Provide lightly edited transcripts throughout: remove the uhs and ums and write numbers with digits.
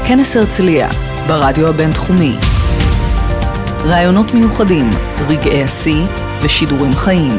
כנס הרצליה, ברדיו הבינתחומי. רעיונות מיוחדים, רגעי השיא ושידורים חיים.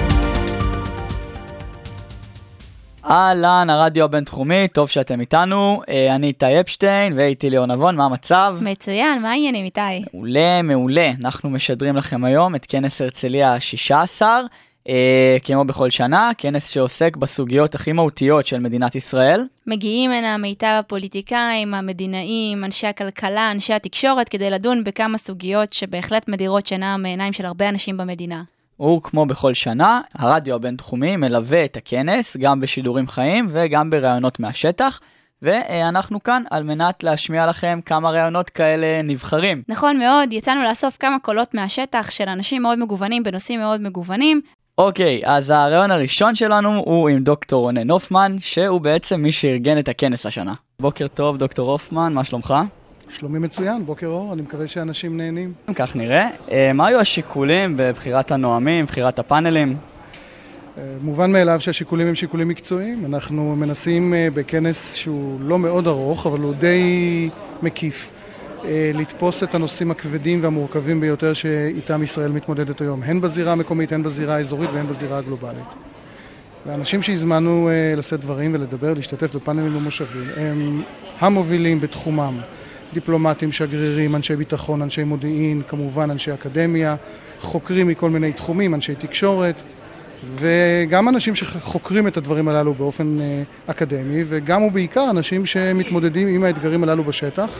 אהלן, הרדיו הבינתחומי, טוב שאתם איתנו. אני איתי אפשטיין ואיתי ליאור נבון, מה המצב? מצוין, מה העניינים איתי? מעולה, מעולה. אנחנו משדרים לכם היום את כנס הרצליה ה-16, כמו בכל שנה, כנס שעוסק בסוגיות הכי מהותיות של מדינת ישראל. מגיעים הנה מיטב הפוליטיקאים, המדינאים, אנשי הכלכלה, אנשי התקשורת, כדי לדון בכמה סוגיות שבהחלט מדירות שינה מעיניים של הרבה אנשים במדינה. וכמו בכל שנה, הרדיו הבינתחומי מלווה את הכנס, גם בשידורים חיים וגם ברעיונות מהשטח, ואנחנו כאן על מנת להשמיע לכם כמה רעיונות כאלה נבחרים. נכון מאוד, יצאנו לאסוף כמה קולות מהשטח של אנשים מאוד מגוונים בנושאים מאוד מגוונים. אוקיי, אז הרעיון הראשון שלנו הוא עם דוקטור רונן הופמן, שהוא בעצם מי שארגן את הכנס השנה. בוקר טוב דוקטור הופמן, מה שלומך? שלומי מצוין, בוקר אור, אני מקווה שאנשים נהנים. כך נראה. מה היו השיקולים בבחירת הנואמים, בחירת הפאנלים? מובן מאליו שהשיקולים הם שיקולים מקצועיים. אנחנו מנסים בכנס שהוא לא מאוד ארוך, אבל הוא די מקיף, לתפוס את הנושאים הכבדים והמורכבים ביותר שאיתם ישראל מתמודדת היום, הן בזירה המקומית, הן בזירה האזורית והן בזירה הגלובלית. והאנשים שהזמנו לשאת דברים ולדבר, להשתתף בפאנלים ומושבים, הם המובילים בתחומם. דיפלומטים, שגרירים, אנשי ביטחון, אנשי מודיעין, כמובן אנשי אקדמיה, חוקרים מכל מיני תחומים, אנשי תקשורת, וגם אנשים שחוקרים את הדברים הללו באופן אקדמי, וגם ובעיקר אנשים שמתמודדים עם האתגרים הללו בשטח,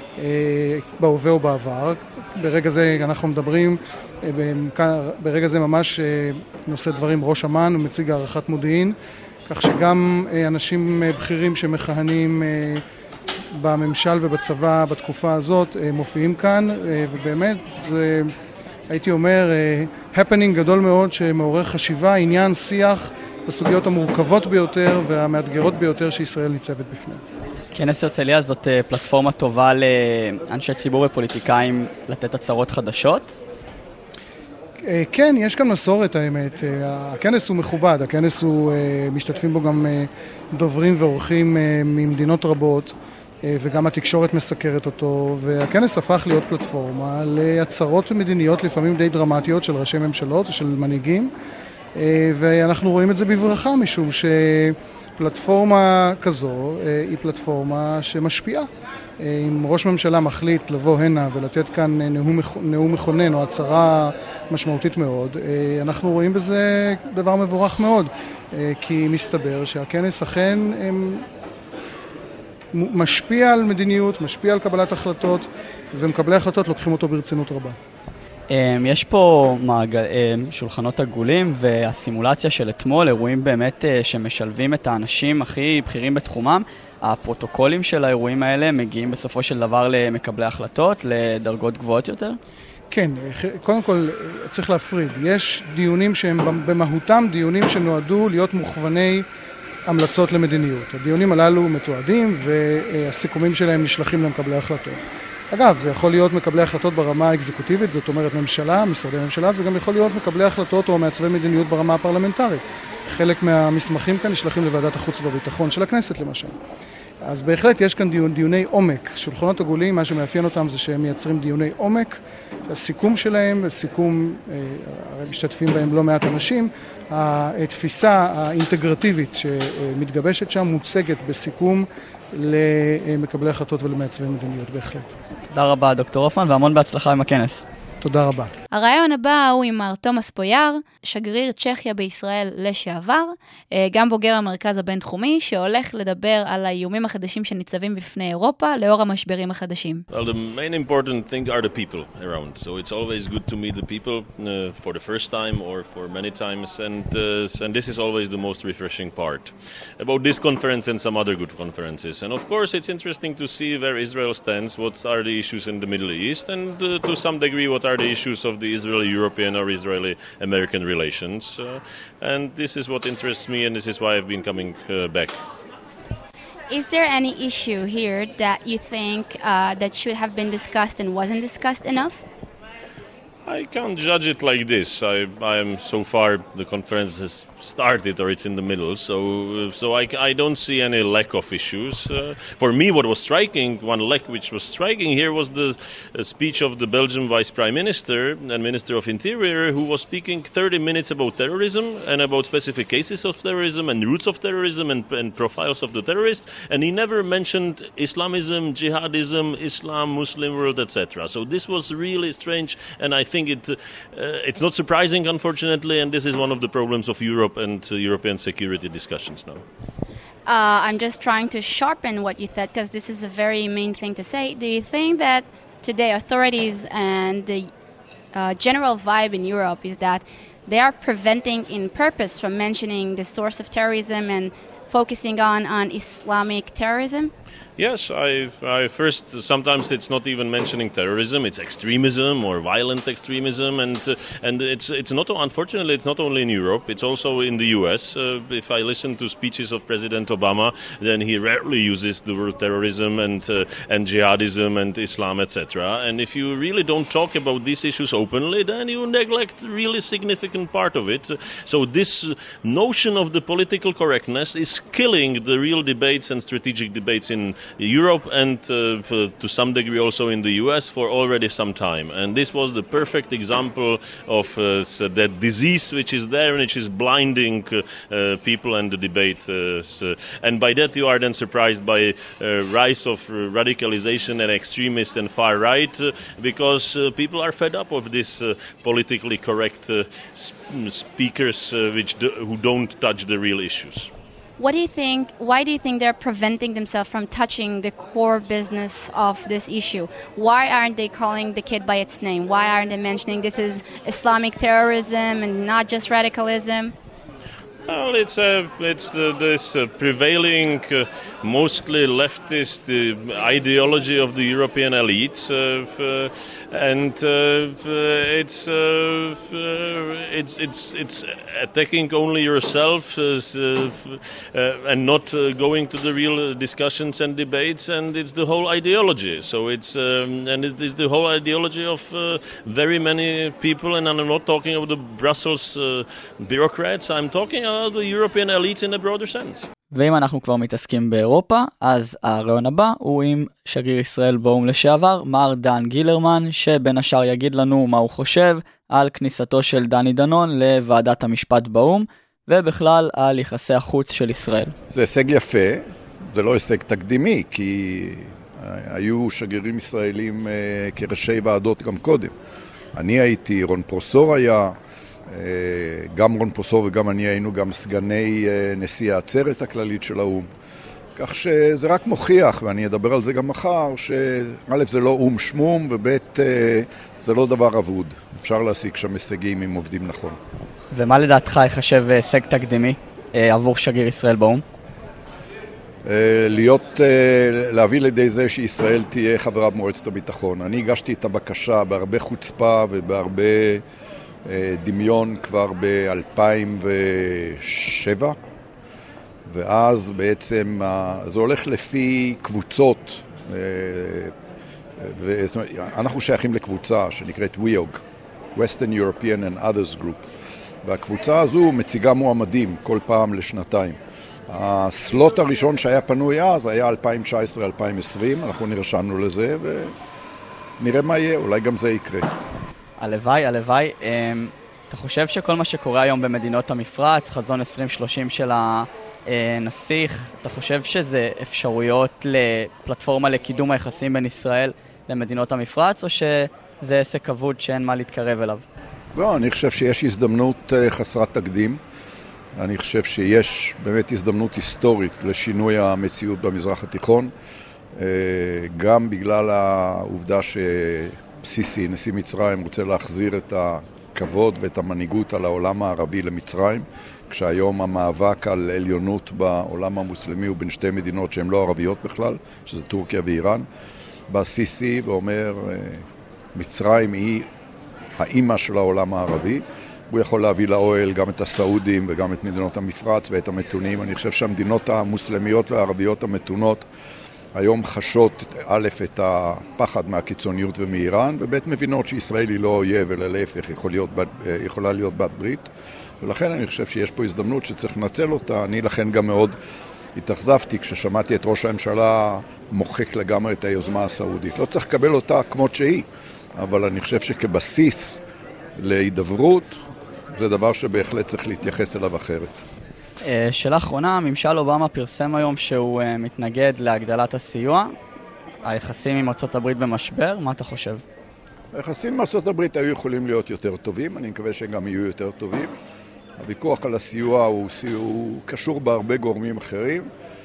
בהווה או בעבר. ברגע זה אנחנו מדברים, ברגע זה ממש נושא דברים ראש אמ"ן, מציג הערכת מודיעין, כך שגם אנשים בכירים שמכהנים בממשל ובצבא בתקופה הזאת מופיעים כאן, ובאמת זה, הייתי אומר, הפנינג גדול מאוד שמעורר חשיבה, עניין, שיח בסוגיות המורכבות ביותר והמאתגרות ביותר שישראל ניצבת בפני. כנס הרצליה זאת פלטפורמה טובה לאנשי ציבור ופוליטיקאים לתת הצהרות חדשות? כן, יש כאן מסורת האמת. הכנס הוא מכובד, הכנס הוא, משתתפים בו גם דוברים ואורחים ממדינות רבות, וגם התקשורת מסקרת אותו, והכנס הפך להיות פלטפורמה להצהרות מדיניות לפעמים די דרמטיות של ראשי ממשלות ושל מנהיגים, ואנחנו רואים את זה בברכה, משום שפלטפורמה כזו היא פלטפורמה שמשפיעה. אם ראש ממשלה מחליט לבוא הנה ולתת כאן נאום מכונן או הצהרה משמעותית מאוד, אנחנו רואים בזה דבר מבורך מאוד, כי מסתבר שהכנס אכן משפיע על מדיניות, משפיע על קבלת החלטות, ומקבלי החלטות לוקחים אותו ברצינות רבה. יש פה שולחנות עגולים, והסימולציה של אתמול, אירועים באמת שמשלבים את האנשים הכי בכירים בתחומם. הפרוטוקולים של האירועים האלה מגיעים בסופו של דבר למקבלי החלטות, לדרגות גבוהות יותר? כן, קודם כל צריך להפריד. יש דיונים שהם במהותם דיונים שנועדו להיות מוכווני המלצות למדיניות. הדיונים הללו מתועדים והסיכומים שלהם נשלחים למקבלי החלטות. אגב, זה יכול להיות מקבלי החלטות ברמה האקזקוטיבית, זאת אומרת ממשלה, משרדי ממשלה, זה גם יכול להיות מקבלי החלטות או מעצבי מדיניות ברמה הפרלמנטרית. חלק מהמסמכים כאן נשלחים לוועדת החוץ והביטחון של הכנסת למשל. אז בהחלט יש כאן דיוני עומק. שולחנות עגולים, מה שמאפיין אותם זה שהם מייצרים דיוני עומק. הסיכום שלהם, הסיכום, הרי משתתפים בהם לא מעט אנשים, התפיסה האינטגרטיבית שמתגבשת שם מוצגת בסיכום למקבלי החלטות ולמעצבי מדיניות בהחלט. תודה רבה דוקטור הופמן והמון בהצלחה עם הכנס. תודה רבה. הרעיון הבא הוא עם מר תומאס פויאר, שגריר צ'כיה בישראל לשעבר, גם בוגר המרכז הבינתחומי, שהולך לדבר על האיומים החדשים שניצבים בפני אירופה, לאור המשברים החדשים. Well, the main important thing are the people around. So it's always good to meet the people for the first time or for many times, and this is always the most refreshing part about this conference and some other good conferences. And of course, it's interesting to see where Israel stands, what are the issues in the Middle East, and to some degree, what are the issues of the Israeli-European or Israeli-American relations. And this is what interests me, and this is why I've been coming back. Is there any issue here that you think that should have been discussed and wasn't discussed enough? I can't judge it like this. I am so far the conference has started or it's in the middle, so I don't see any lack of issues. For me, what was striking, one lack which was striking here was the speech of the Belgian Vice Prime Minister and Minister of Interior, who was speaking 30 minutes about terrorism and about specific cases of terrorism and routes of terrorism and profiles of the terrorists, and he never mentioned Islamism, jihadism, Islam, Muslim world, etc. So this was really strange, and I think it's not surprising, unfortunately, and this is one of the problems of Europe and European security discussions now. I'm just trying to sharpen what you said, because this is a very main thing to say. Do you think that today authorities and the general vibe in Europe is that they are preventing in purpose from mentioning the source of terrorism and focusing on Islamic terrorism? Yes, I first, sometimes it's not even mentioning terrorism, it's extremism or violent extremism, and it's not, unfortunately, it's not only in Europe, it's also in the US. If I listen to speeches of President Obama, then he rarely uses the word terrorism and jihadism and Islam, etc. And if you really don't talk about these issues openly, then you neglect a really significant part of it. So this notion of the political correctness is killing the real debates and strategic debates in Europe and to some degree also in the US for already some time. And this was the perfect example of that disease which is there and which is blinding people and the debate. And by that you are then surprised by rise of radicalization and extremists and far right because people are fed up of this politically correct speakers who don't touch the real issues. What do you think? Why do you think they're preventing themselves from touching the core business of this issue? Why aren't they calling the kid by its name? Why aren't they mentioning this is Islamic terrorism and not just radicalism? Well, it's this prevailing, mostly leftist ideology of the European elites, and it's attacking only yourself and not going to the real discussions and debates, and it's the whole ideology. So it's and it is the whole ideology of very many people, and I'm not talking about the Brussels bureaucrats. I'm talking about the European elites in a broader sense. ואם אנחנו כבר מתעסקים באירופה, אז הרעיון הבא הוא עם שגריר ישראל באו"ם לשעבר, מר דן גילרמן, שבין השאר יגיד לנו מה הוא חושב על כניסתו של דני דנון לוועדת המשפט באו"ם, ובכלל על יחסי החוץ של ישראל. זה הישג יפה, זה לא הישג תקדימי, כי היו שגרירים ישראלים כראשי ועדות גם קודם. אני הייתי, רון פרוסור היה, גם רון פרוסור וגם אני היינו גם סגני נשיא העצרת הכללית של האו"ם. כך שזה רק מוכיח, ואני אדבר על זה גם מחר, שא' זה לא או"ם שמום, וב' זה לא דבר אבוד. אפשר להשיג שם הישגים אם עובדים נכון. ומה לדעתך יחשב הישג תקדימי עבור שגריר ישראל באו"ם? להביא לידי זה שישראל תהיה חברה במועצת הביטחון. אני הגשתי את הבקשה בהרבה חוצפה ובהרבה דמיון כבר ב-2007, ואז בעצם זה הולך לפי קבוצות, אנחנו שייכים לקבוצה שנקראת WEOG, Western European and Others Group, והקבוצה הזו מציגה מועמדים כל פעם לשנתיים. הסלוט הראשון שהיה פנוי אז היה 2019-2020, אנחנו נרשמנו לזה ונראה מה יהיה, אולי גם זה יקרה. הלוואי, הלוואי. אתה חושב שכל מה שקורה היום במדינות המפרץ, חזון 2030 של הנסיך, אתה חושב שזה אפשרויות לפלטפורמה לקידום היחסים בין ישראל למדינות המפרץ, או שזה עסק כבוד שאין מה להתקרב אליו? לא, אני חושב שיש הזדמנות חסרת תקדים. אני חושב שיש באמת הזדמנות היסטורית לשינוי המציאות במזרח התיכון, גם בגלל העובדה סיסי, נשיא מצרים, רוצה להחזיר את הכבוד ואת המנהיגות על העולם הערבי למצרים, כשהיום המאבק על עליונות בעולם המוסלמי הוא בין שתי מדינות שהן לא ערביות בכלל, שזה טורקיה ואיראן. בא סיסי ואומר, מצרים היא האימא של העולם הערבי, הוא יכול להביא לאוהל גם את הסעודים וגם את מדינות המפרץ ואת המתונים. אני חושב שהמדינות המוסלמיות והערביות המתונות היום חשות א' את הפחד מהקיצוניות ומאיראן, וב' מבינות שישראל היא לא אויב, אלא להפך, יכולה להיות בת ברית. ולכן אני חושב שיש פה הזדמנות שצריך לנצל אותה. אני לכן גם מאוד התאכזבתי כששמעתי את ראש הממשלה מוחק לגמרי את היוזמה הסעודית. לא צריך לקבל אותה כמות שהיא, אבל אני חושב שכבסיס להידברות זה דבר שבהחלט צריך להתייחס אליו אחרת. שאלה אחרונה, ממשל אובמה פרסם היום שהוא מתנגד להגדלת הסיוע. היחסים עם ארצות הברית במשבר, מה אתה חושב? היחסים עם ארצות הברית היו יכולים להיות יותר טובים, אני מקווה שהם גם יהיו יותר טובים. הוויכוח על הסיוע הוא קשור בהרבה גורמים אחרים.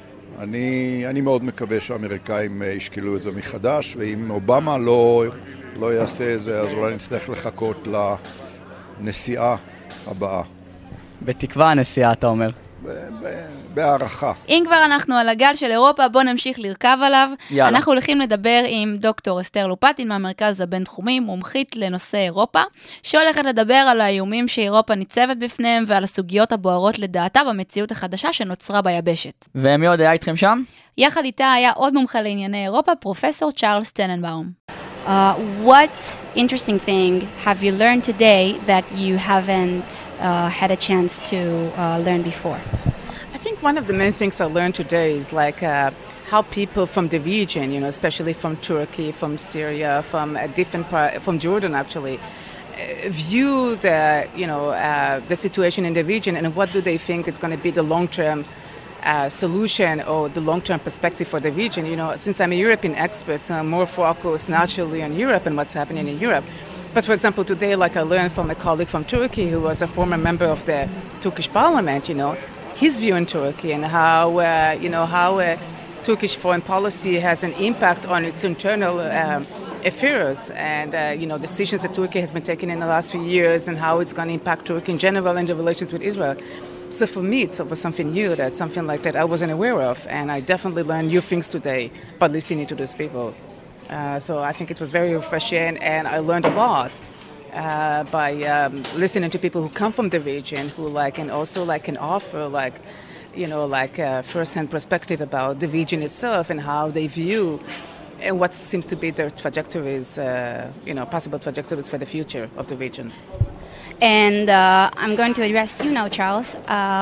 אני מאוד מקווה שהאמריקאים ישקלו את זה מחדש, ואם אובמה לא יעשה את זה, אז אולי נצטרך לחכות לנסיעה הבאה. בתקווה הנסיעה, אתה אומר. בהערכה. אם כבר אנחנו על הגל של אירופה, בוא נמשיך לרכב עליו. יאללה. אנחנו הולכים לדבר עם דוקטור אסתר לופטין מהמרכז הבינתחומי, מומחית לנושא אירופה, שהולכת לדבר על האיומים שאירופה ניצבת בפניהם ועל הסוגיות הבוערות לדעתה במציאות החדשה שנוצרה ביבשת. ומי עוד היה איתכם שם? יחד איתה היה עוד מומחה לענייני אירופה, פרופסור צ'ארלס טננבאום. What interesting thing have you learned today that you haven't had a chance to learn before? I think one of the main things I learned today is like how people from the region, you know, especially from Turkey, from Syria, from a different part, from Jordan actually, view the, you know, the situation in the region and what do they think it's going to be the long-term solution or the long-term perspective for the region. You know, since I'm a European expert, so I'm more focused naturally on Europe and what's happening in Europe. But for example, today, like I learned from a colleague from Turkey who was a former member of the Turkish parliament, you know, his view in Turkey and how, you know, how Turkish foreign policy has an impact on its internal affairs and, you know, decisions that Turkey has been taking in the last few years and how it's going to impact Turkey in general and the relations with Israel. So for me, it was something new, that something like that I wasn't aware of, and I definitely learned new things today by listening to those people. So I think it was very refreshing, and I learned a lot by listening to people who come from the region, who like and also like can offer like, you know, like first-hand perspective about the region itself and how they view and what seems to be their trajectories, you know, possible trajectories for the future of the region. And I'm going to address you now, Charles.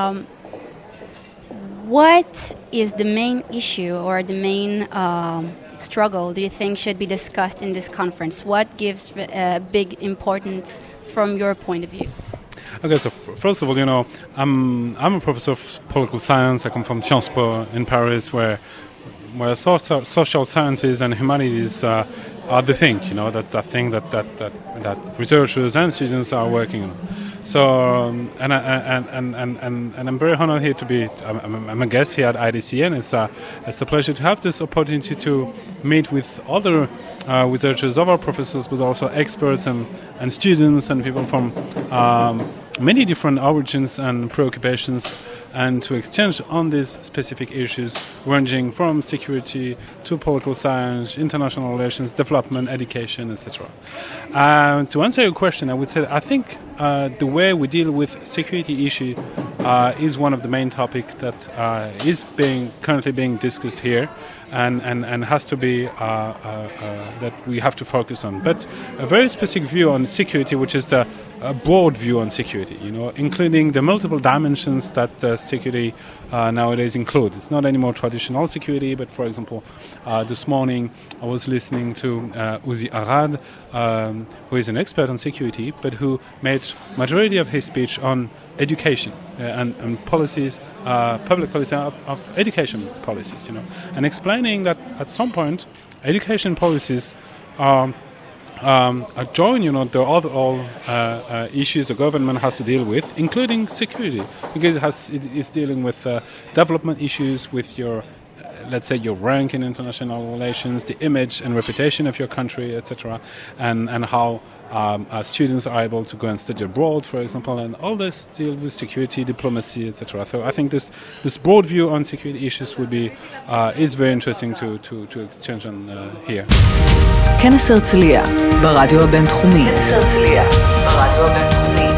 What is the main issue or the main struggle do you think should be discussed in this conference? What gives big importance from your point of view? Okay, so first of all, you know, I'm a professor of political science. I come from Sciences Po in Paris, where social sciences and humanities are the thing, you know, that's the thing that researchers and students are working on. So, and I'm very honored here to be. I'm a guest here at IDC, and it's a pleasure to have this opportunity to meet with other researchers, other professors, but also experts and students and people from many different origins and preoccupations, and to exchange on these specific issues ranging from security to political science, international relations, development, education, etc. To answer your question, I would say I think the way we deal with security issue is one of the main topics that is currently being discussed here, and has to be that we have to focus on. But a very specific view on security, which is a broad view on security, you know, including the multiple dimensions that security nowadays include. It's not anymore traditional security, but for example, this morning I was listening to Uzi Arad, who is an expert on security, but who made majority of his speech on education and policies, public policy of education policies, you know, and explaining that at some point education policies are join, you know, the all issues the government has to deal with, including security, because it's dealing with development issues, with your, let's say, your rank in international relations, the image and reputation of your country, etc., and how students are able to go and study abroad, for example, and all this deal with security, diplomacy, etc. So I think this broad view on security issues would be is very interesting to exchange on here. כנס הרצליה, ברדיו הבינתחומי. כנס הרצליה, ברדיו הבינתחומי.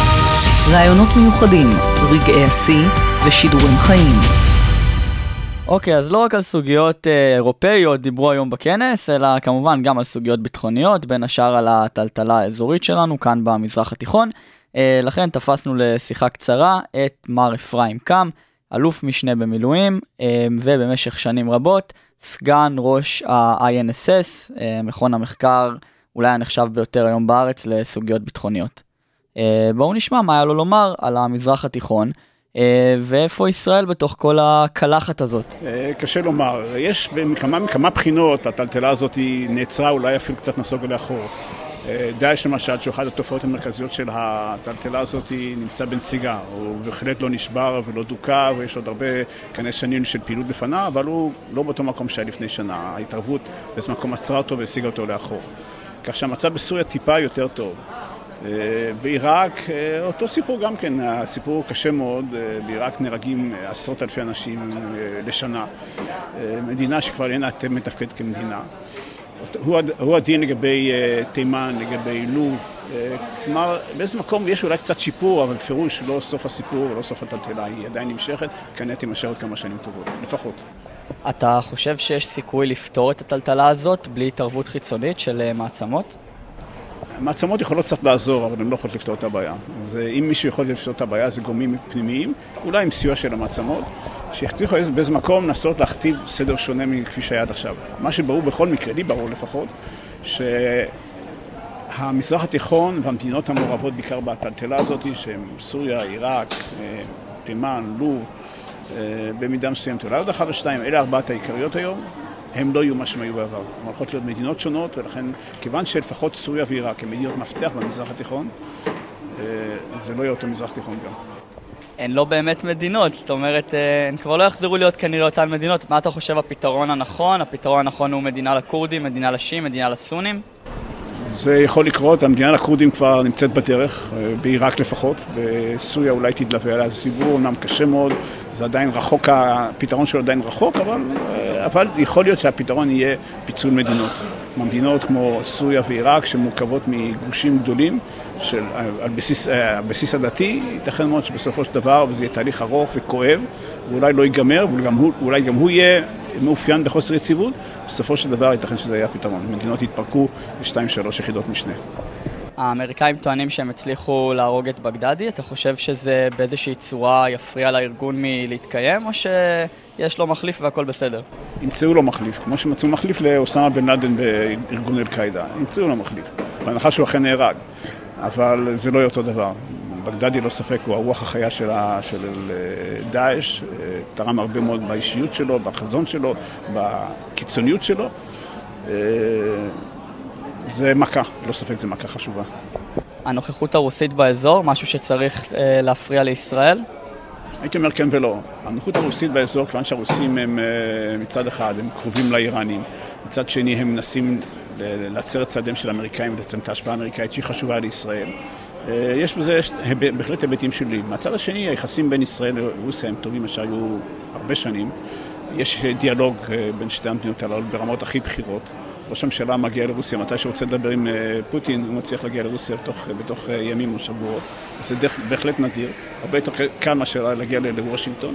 רעיונות מיוחדים, רגעי השיא ושידורים חיים. אוקיי, אז לא רק על סוגיות אירופאיות דיברו היום בכנס, אלא כמובן גם על סוגיות ביטחוניות, בין השאר על הטלטלה האזורית שלנו כאן במזרח התיכון. לכן תפסנו לשיחה קצרה את מר אפרים קם, אלוף משנה במילואים, ובמשך שנים רבות, סגן ראש ה-INSS, מכון המחקר אולי הנחשב ביותר היום בארץ לסוגיות ביטחוניות. בואו נשמע מה היה לו לומר על המזרח התיכון, ואיפה ישראל בתוך כל הקלחת הזאת. קשה לומר, יש מכמה בחינות, הטלטלה הזאת נעצרה, אולי אפילו קצת נסוגה לאחור. דאעש למשל, שאחת התופעות המרכזיות של הטלטלה הזאת נמצא בנסיגה, הוא בהחלט לא נשבר ולא דוקה, ויש עוד הרבה כנס שנים של פעילות בפנה, אבל הוא לא באותו מקום שהיה לפני שנה. ההתערבות באיזה מקום עצרה אותו והשיגה אותו לאחור. כך שהמצב בסוריה טיפה יותר טוב. בעיראק, אותו סיפור גם כן, הסיפור קשה מאוד, בעיראק נהרגים עשרות אלפי אנשים לשנה. מדינה שכבר אינה מתפקדת כמדינה. הוא הדין לגבי תימן, לגבי לוב. כלומר, באיזה מקום יש אולי קצת שיפור, אבל פירוש לא סוף הסיפור ולא סוף הטלטלה, היא עדיין נמשכת, כנראה תימשך עוד כמה שנים טובות, לפחות. אתה חושב שיש סיכוי לפתור את הטלטלה הזאת בלי התערבות חיצונית של מעצמות? מעצמות יכולות קצת לעזור, אבל הן לא יכולות לפתור את הבעיה. אז אם מישהו יכול לפתור את הבעיה, זה גורמים פנימיים, אולי עם סיוע של המעצמות, שיצליחו באיזה מקום לנסות להכתיב סדר שונה מכפי שהיה עד עכשיו. מה שברור בכל מקרה, לי ברור לפחות, שהמזרח התיכון והמדינות המעורבות בעיקר בטלטלה הזאת, שהן סוריה, עיראק, תימן, לוב, במידה מסוימת, אולי עוד אחד או שתיים, אלה ארבעת העיקריות היום, הם לא יהיו מה שהם היו בעבר. הם הולכות להיות מדינות שונות, ולכן כיוון שלפחות סוריה ועיראק הם מדינות מפתח במזרח התיכון, זה לא יהיה אותו מזרח תיכון גם. הן לא באמת מדינות, זאת אומרת, הן כבר לא יחזרו להיות כנראה אותן מדינות. מה אתה חושב הפתרון הנכון? הפתרון הנכון הוא מדינה לקורדים, מדינה לשיעים, מדינה לסונים? זה יכול לקרות, המדינה לקורדים כבר נמצאת בדרך, בעיראק לפחות, בסוריה אולי תדלווה עליה, זה סיבור אומנם קשה מאוד, זה עדיין רחוק, הפתרון שלו עדיין רחוק, אבל יכול להיות שהפתרון יהיה פיצול מדינות. מדינות כמו סוריה ועיראק שמורכבות מגושים גדולים על בסיס הדתי, ייתכן מאוד שבסופו של דבר זה יהיה תהליך ארוך וכואב, ואולי לא ייגמר, ואולי גם הוא יהיה מאופיין בחוסר יציבות, בסופו של דבר ייתכן שזה יהיה הפתרון. מדינות יתפרקו ל2-3 יחידות משנה. האמריקאים טוענים שהם הצליחו להרוג את בגדדי, אתה חושב שזה באיזושהי צורה יפריע לארגון מלהתקיים, או שיש לו מחליף והכל בסדר? ימצאו לו מחליף, כמו שמצאו מחליף לאוסמה בן לאדן בארגון אל-קאידה, ימצאו לו מחליף, בהנחה שהוא אכן נהרג, אבל זה לא יהיה אותו דבר. בגדדי לא ספק, הוא הרוח החיה של דאעש, תרם הרבה מאוד באישיות שלו, בחזון שלו, בקיצוניות שלו. זה מכה, לא ספק, זה מכה חשובה. הנוכחות הרוסית באזור, משהו שצריך להפריע לישראל? הייתי אומר כן ולא. הנוכחות הרוסית באזור, כיוון שהרוסים הם מצד אחד, הם קרובים לאיראנים, מצד שני הם מנסים לעצר את צעדיהם של האמריקאים ולצמצם את ההשפעה האמריקאית שהיא חשובה לישראל. יש בזה בהחלט היבטים שלי. מהצד השני, היחסים בין ישראל לרוסיה הם טובים אשר היו הרבה שנים. יש דיאלוג בין שתי המדינות הללו ברמות הכי בחירות. ראש הממשלה מגיע לרוסיה, מתי שרוצה לדבר עם פוטין, הוא מצליח להגיע לרוסיה בתוך ימים או שבועות. זה בהחלט נדיר, הרבה יותר קל מאשר להגיע לוושינגטון.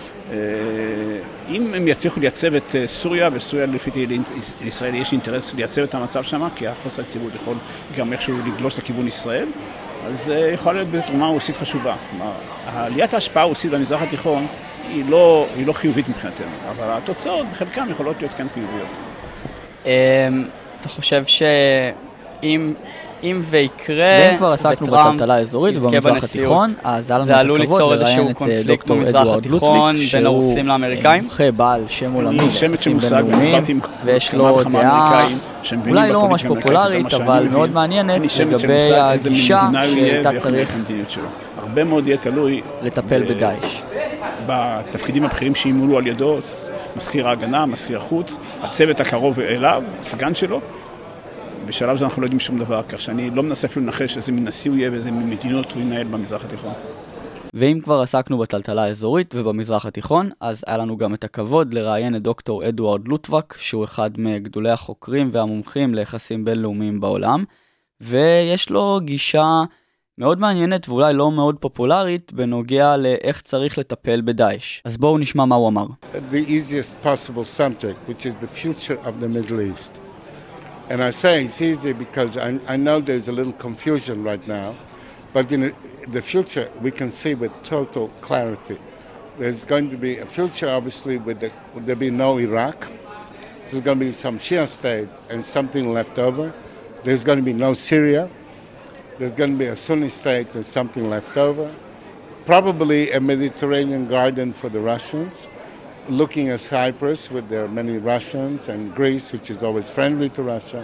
אם הם יצליחו לייצב את סוריה, וסוריה לפי לישראל יש אינטרס לייצב את המצב שם, כי החוסר היציבות יכול גם איכשהו לגלוש לכיוון ישראל, אז יכול להיות בזה תרומה רוסית חשובה. כלומר, עליית ההשפעה הרוסית במזרח התיכון היא לא חיובית מבחינתנו, אבל התוצאות בחלקם יכולות להיות כאן חיוביות. אתה חושב שאם ויקרה, ואם כבר עסקנו בטלטלה האזורית ובמזרח התיכון, אז זה עלול ליצור איזשהו קונפליקט במזרח התיכון בין הרוסים לאמריקאים? מומחה בעל שם עולמי ליחסים בינלאומיים, ויש לו דעה אולי לא ממש פופולרית, אבל מאוד מעניינת לגבי הגישה שאתה צריך הרבה מאוד יהיה תלוי לטפל בדאעש. בתפקידים הבכירים שימולו על ידו, מזכיר ההגנה, מזכיר החוץ, הצוות הקרוב אליו, הסגן שלו. בשלב זה אנחנו לא יודעים שום דבר, כך שאני לא מנסה אפילו לנחש איזה מין נשיא הוא יהיה ואיזה מין מדינות הוא ינהל במזרח התיכון. ואם כבר עסקנו בטלטלה האזורית ובמזרח התיכון, אז היה לנו גם את הכבוד לראיין את דוקטור אדוארד לוטבק, שהוא אחד מגדולי החוקרים והמומחים ליחסים בינלאומיים בעולם, ויש לו גישה מאוד מעניינת ואולי לא מאוד פופולרית בנוגע לאיך צריך לטפל בדאעש. אז בואו נשמע מה הוא אמר. The easiest possible subject, which is the future of the Middle East. And I say it's easy because I know there's a little confusion right now, but in the future we can see with total clarity. There's going to be a future, obviously, there'll be no Iraq. There's going to be some Shia state and something left over. There's going to be no Syria. There's going to be a Sunni state and something left over. Probably a Mediterranean garden for the Russians, looking at Cyprus with their many Russians and Greece, which is always friendly to Russia.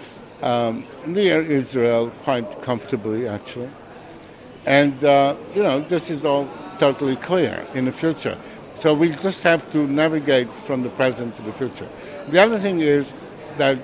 Near Israel, quite comfortably, actually. And, this is all totally clear in the future. So we just have to navigate from the present to the future. The other thing is that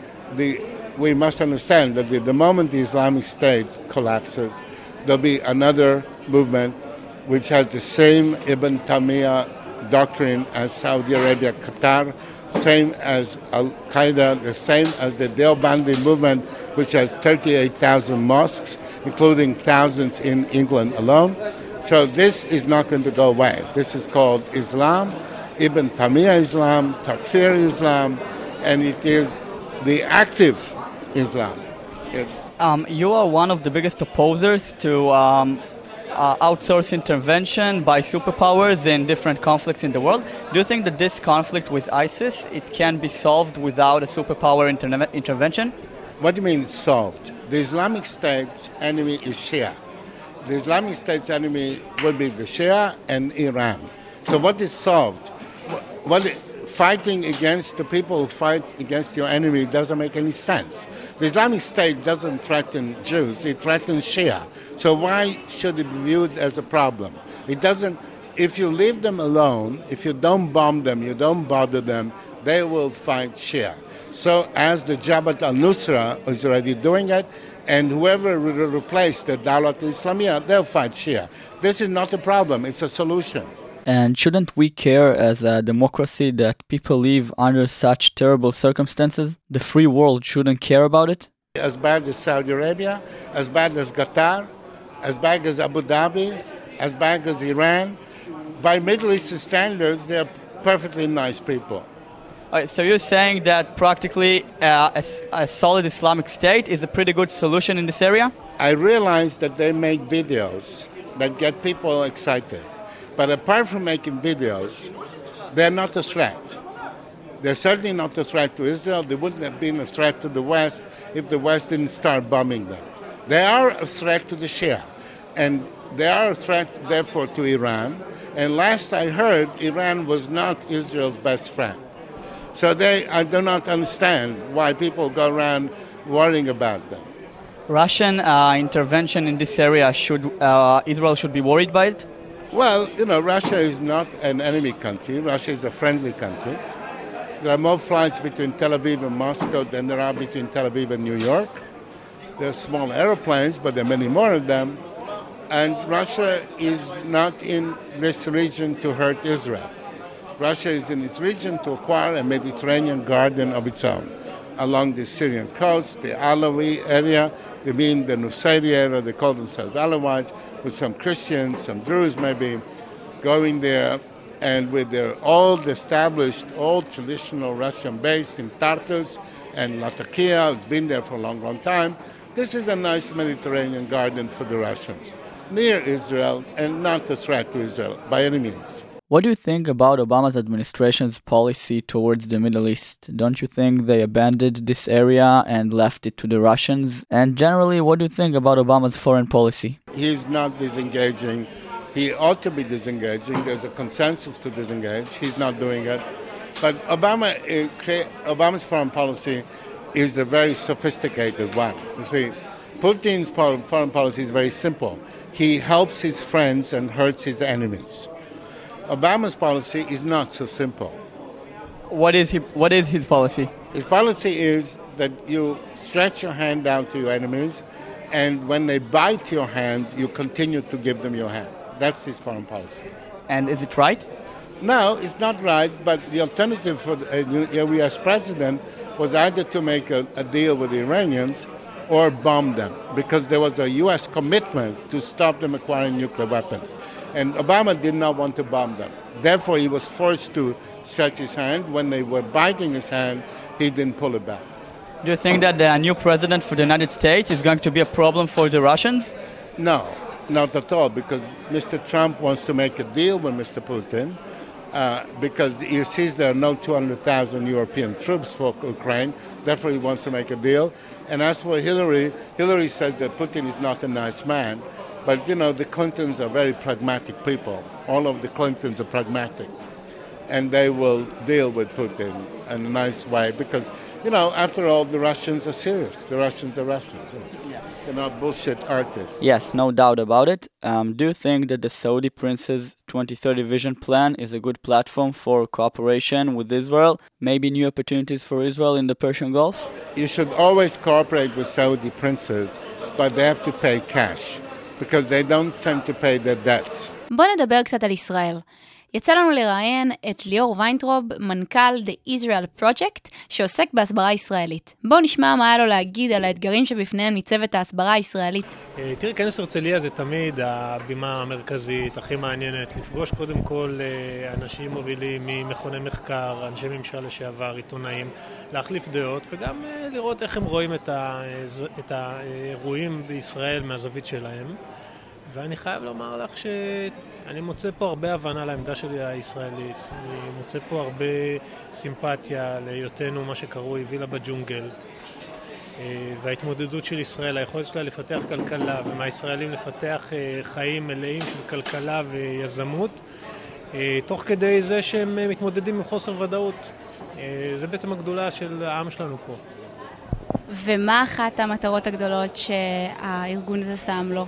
we must understand that the moment the Islamic State collapses, there'll be another movement which has the same Ibn Taymiyyah doctrine as Saudi Arabia, Qatar, same as Al-Qaeda, the same as the Deobandi movement, which has 38,000 mosques, including thousands in England alone. So this is not going to go away. This is called Islam, Ibn Taymiyyah Islam, Takfir Islam, and it is the active Islam. You are one of the biggest opposers to outsource intervention by superpowers in different conflicts in the world. Do you think that this conflict with ISIS, it can be solved without a superpower intervention? What do you mean solved? The Islamic State's enemy is Shia. The Islamic State's enemy would be the Shia and Iran. So what is solved? Fighting against the people who fight against your enemy doesn't make any sense. The Islamic State doesn't threaten Jews, it threatens Shia. So why should it be viewed as a problem? It doesn't. If you leave them alone, if you don't bomb them, you don't bother them, they will fight Shia. So as the Jabhat al-Nusra is already doing it, and whoever will replace the Dawlat al-Islamiyah, they'll fight Shia. This is not a problem, it's a solution. And shouldn't we care as a democracy that people live under such terrible circumstances? The free world shouldn't care about it? As bad as Saudi Arabia, as bad as Qatar, as bad as Abu Dhabi, as bad as Iran. By Middle Eastern standards, they're perfectly nice people. All right, so you're saying that practically a solid Islamic State is a pretty good solution in this area? I realize that they make videos that get people excited. But apart from making videos, they're not a threat. They're certainly not a threat to Israel. They wouldn't have been a threat to the West if the West didn't start bombing them. They are a threat to the Shia. And they are a threat, therefore, to Iran. And last I heard, Iran was not Israel's best friend. So I do not understand why people go around worrying about them. Russian intervention in this area, Israel should be worried by it? Well, Russia is not an enemy country. Russia is a friendly country. There are more flights between Tel Aviv and Moscow than there are between Tel Aviv and New York. There are small airplanes, but there are many more of them. And Russia is not in this region to hurt Israel. Russia is in this region to acquire a Mediterranean garden of its own. Along the Syrian coast, the Alawi area, they mean the Nusayri area, they call themselves Alawites, with some Christians, some Druze maybe, going there, and with their old established, old traditional Russian base in Tartus and Latakia, it's been there for a long, long time. This is a nice Mediterranean garden for the Russians, near Israel, and not a threat to Israel by any means. What do you think about Obama's administration's policy towards the Middle East? Don't you think they abandoned this area and left it to the Russians? And generally, what do you think about Obama's foreign policy? He's not disengaging. He ought to be disengaging. There's a consensus to disengage. He's not doing it. But Obama's foreign policy is a very sophisticated one. You see, Putin's foreign policy is very simple. He helps his friends and hurts his enemies. Obama's policy is not so simple. What is his policy? His policy is that you stretch your hand out to your enemies, and when they bite your hand, you continue to give them your hand. That's his foreign policy. And is it right? No, it's not right, but the alternative for the U.S. president was either to make a deal with the Iranians or bomb them, because there was a U.S. commitment to stop them acquiring nuclear weapons. And Obama did not want to bomb them. Therefore, he was forced to stretch his hand. When they were biting his hand, he didn't pull it back. Do you think that the new president for the United States is going to be a problem for the Russians? No, not at all, because Mr. Trump wants to make a deal with Mr. Putin, because he sees there are no 200,000 European troops for Ukraine. Therefore, he wants to make a deal. And as for Hillary says that Putin is not a nice man. But, you know, the Clintons are very pragmatic people. All of the Clintons are pragmatic. And they will deal with Putin in a nice way because, you know, after all, the Russians are serious. The Russians are Russians. They're not bullshit artists. Yes, no doubt about it. Do you think that the Saudi Prince's 2030 Vision Plan is a good platform for cooperation with Israel? Maybe new opportunities for Israel in the Persian Gulf? You should always cooperate with Saudi princes, but they have to pay cash. because they don't tend to pay their debts. בוא נדבר קצת על ישראל. יצא לנו לראיין את ליאור ויינטרוב, מנכ"ל The Israel Project, שעוסק בהסברה ישראלית. בואו נשמע מה היה לו להגיד על האתגרים שבפניהם ניצבת ההסברה הישראלית. תראי, כנס הרצליה זה תמיד הבימה המרכזית, הכי מעניינת, לפגוש קודם כל אנשים מובילים ממכוני מחקר, אנשי ממשל לשעבר, עיתונאים, להחליף דעות, וגם לראות איך הם רואים את האירועים בישראל מהזווית שלהם. ואני חייב לומר לך שאני מוצא פה הרבה הבנה לעמדה שלי הישראלית. אני מוצא פה הרבה סימפתיה להיותנו מה שקרוי וילה בג'ונגל. וההתמודדות של ישראל, היכולת שלה לפתח כלכלה, ומהישראלים לפתח חיים מלאים של כלכלה ויזמות, תוך כדי זה שהם מתמודדים עם חוסר ודאות. זה בעצם הגדולה של העם שלנו פה. ומה אחת המטרות הגדולות שהארגון הזה שם לו?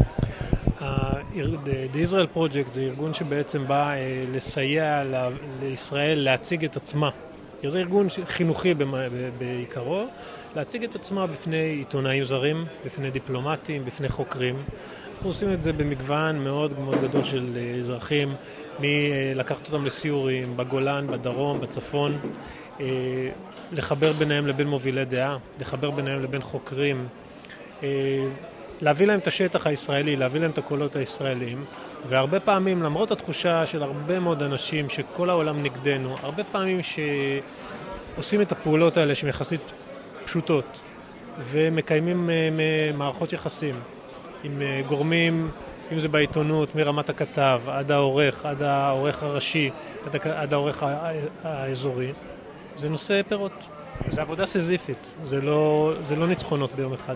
The Israel Project זה ארגון שבעצם בא לסייע לישראל להציג את עצמה. זה ארגון חינוכי בעיקרו, להציג את עצמה בפני עיתונאים זרים, בפני דיפלומטים, בפני חוקרים. אנחנו עושים את זה במגוון מאוד מאוד גדול של אזרחים, מלקחת אותם לסיורים, בגולן, בדרום, בצפון, לחבר ביניהם לבין מובילי דעה, לחבר ביניהם לבין חוקרים, להביא להם את השטח הישראלי, להביא להם את הקולות הישראליים, והרבה פעמים, למרות התחושה של הרבה מאוד אנשים שכל העולם נגדנו, הרבה פעמים שעושים את הפעולות האלה שהן יחסית פשוטות, ומקיימים מערכות יחסים עם גורמים, אם זה בעיתונות, מרמת הכתב, עד העורך הראשי, עד העורך האזורי, זה נושא פירות. זה עבודה סזיפית, זה לא ניצחונות ביום אחד.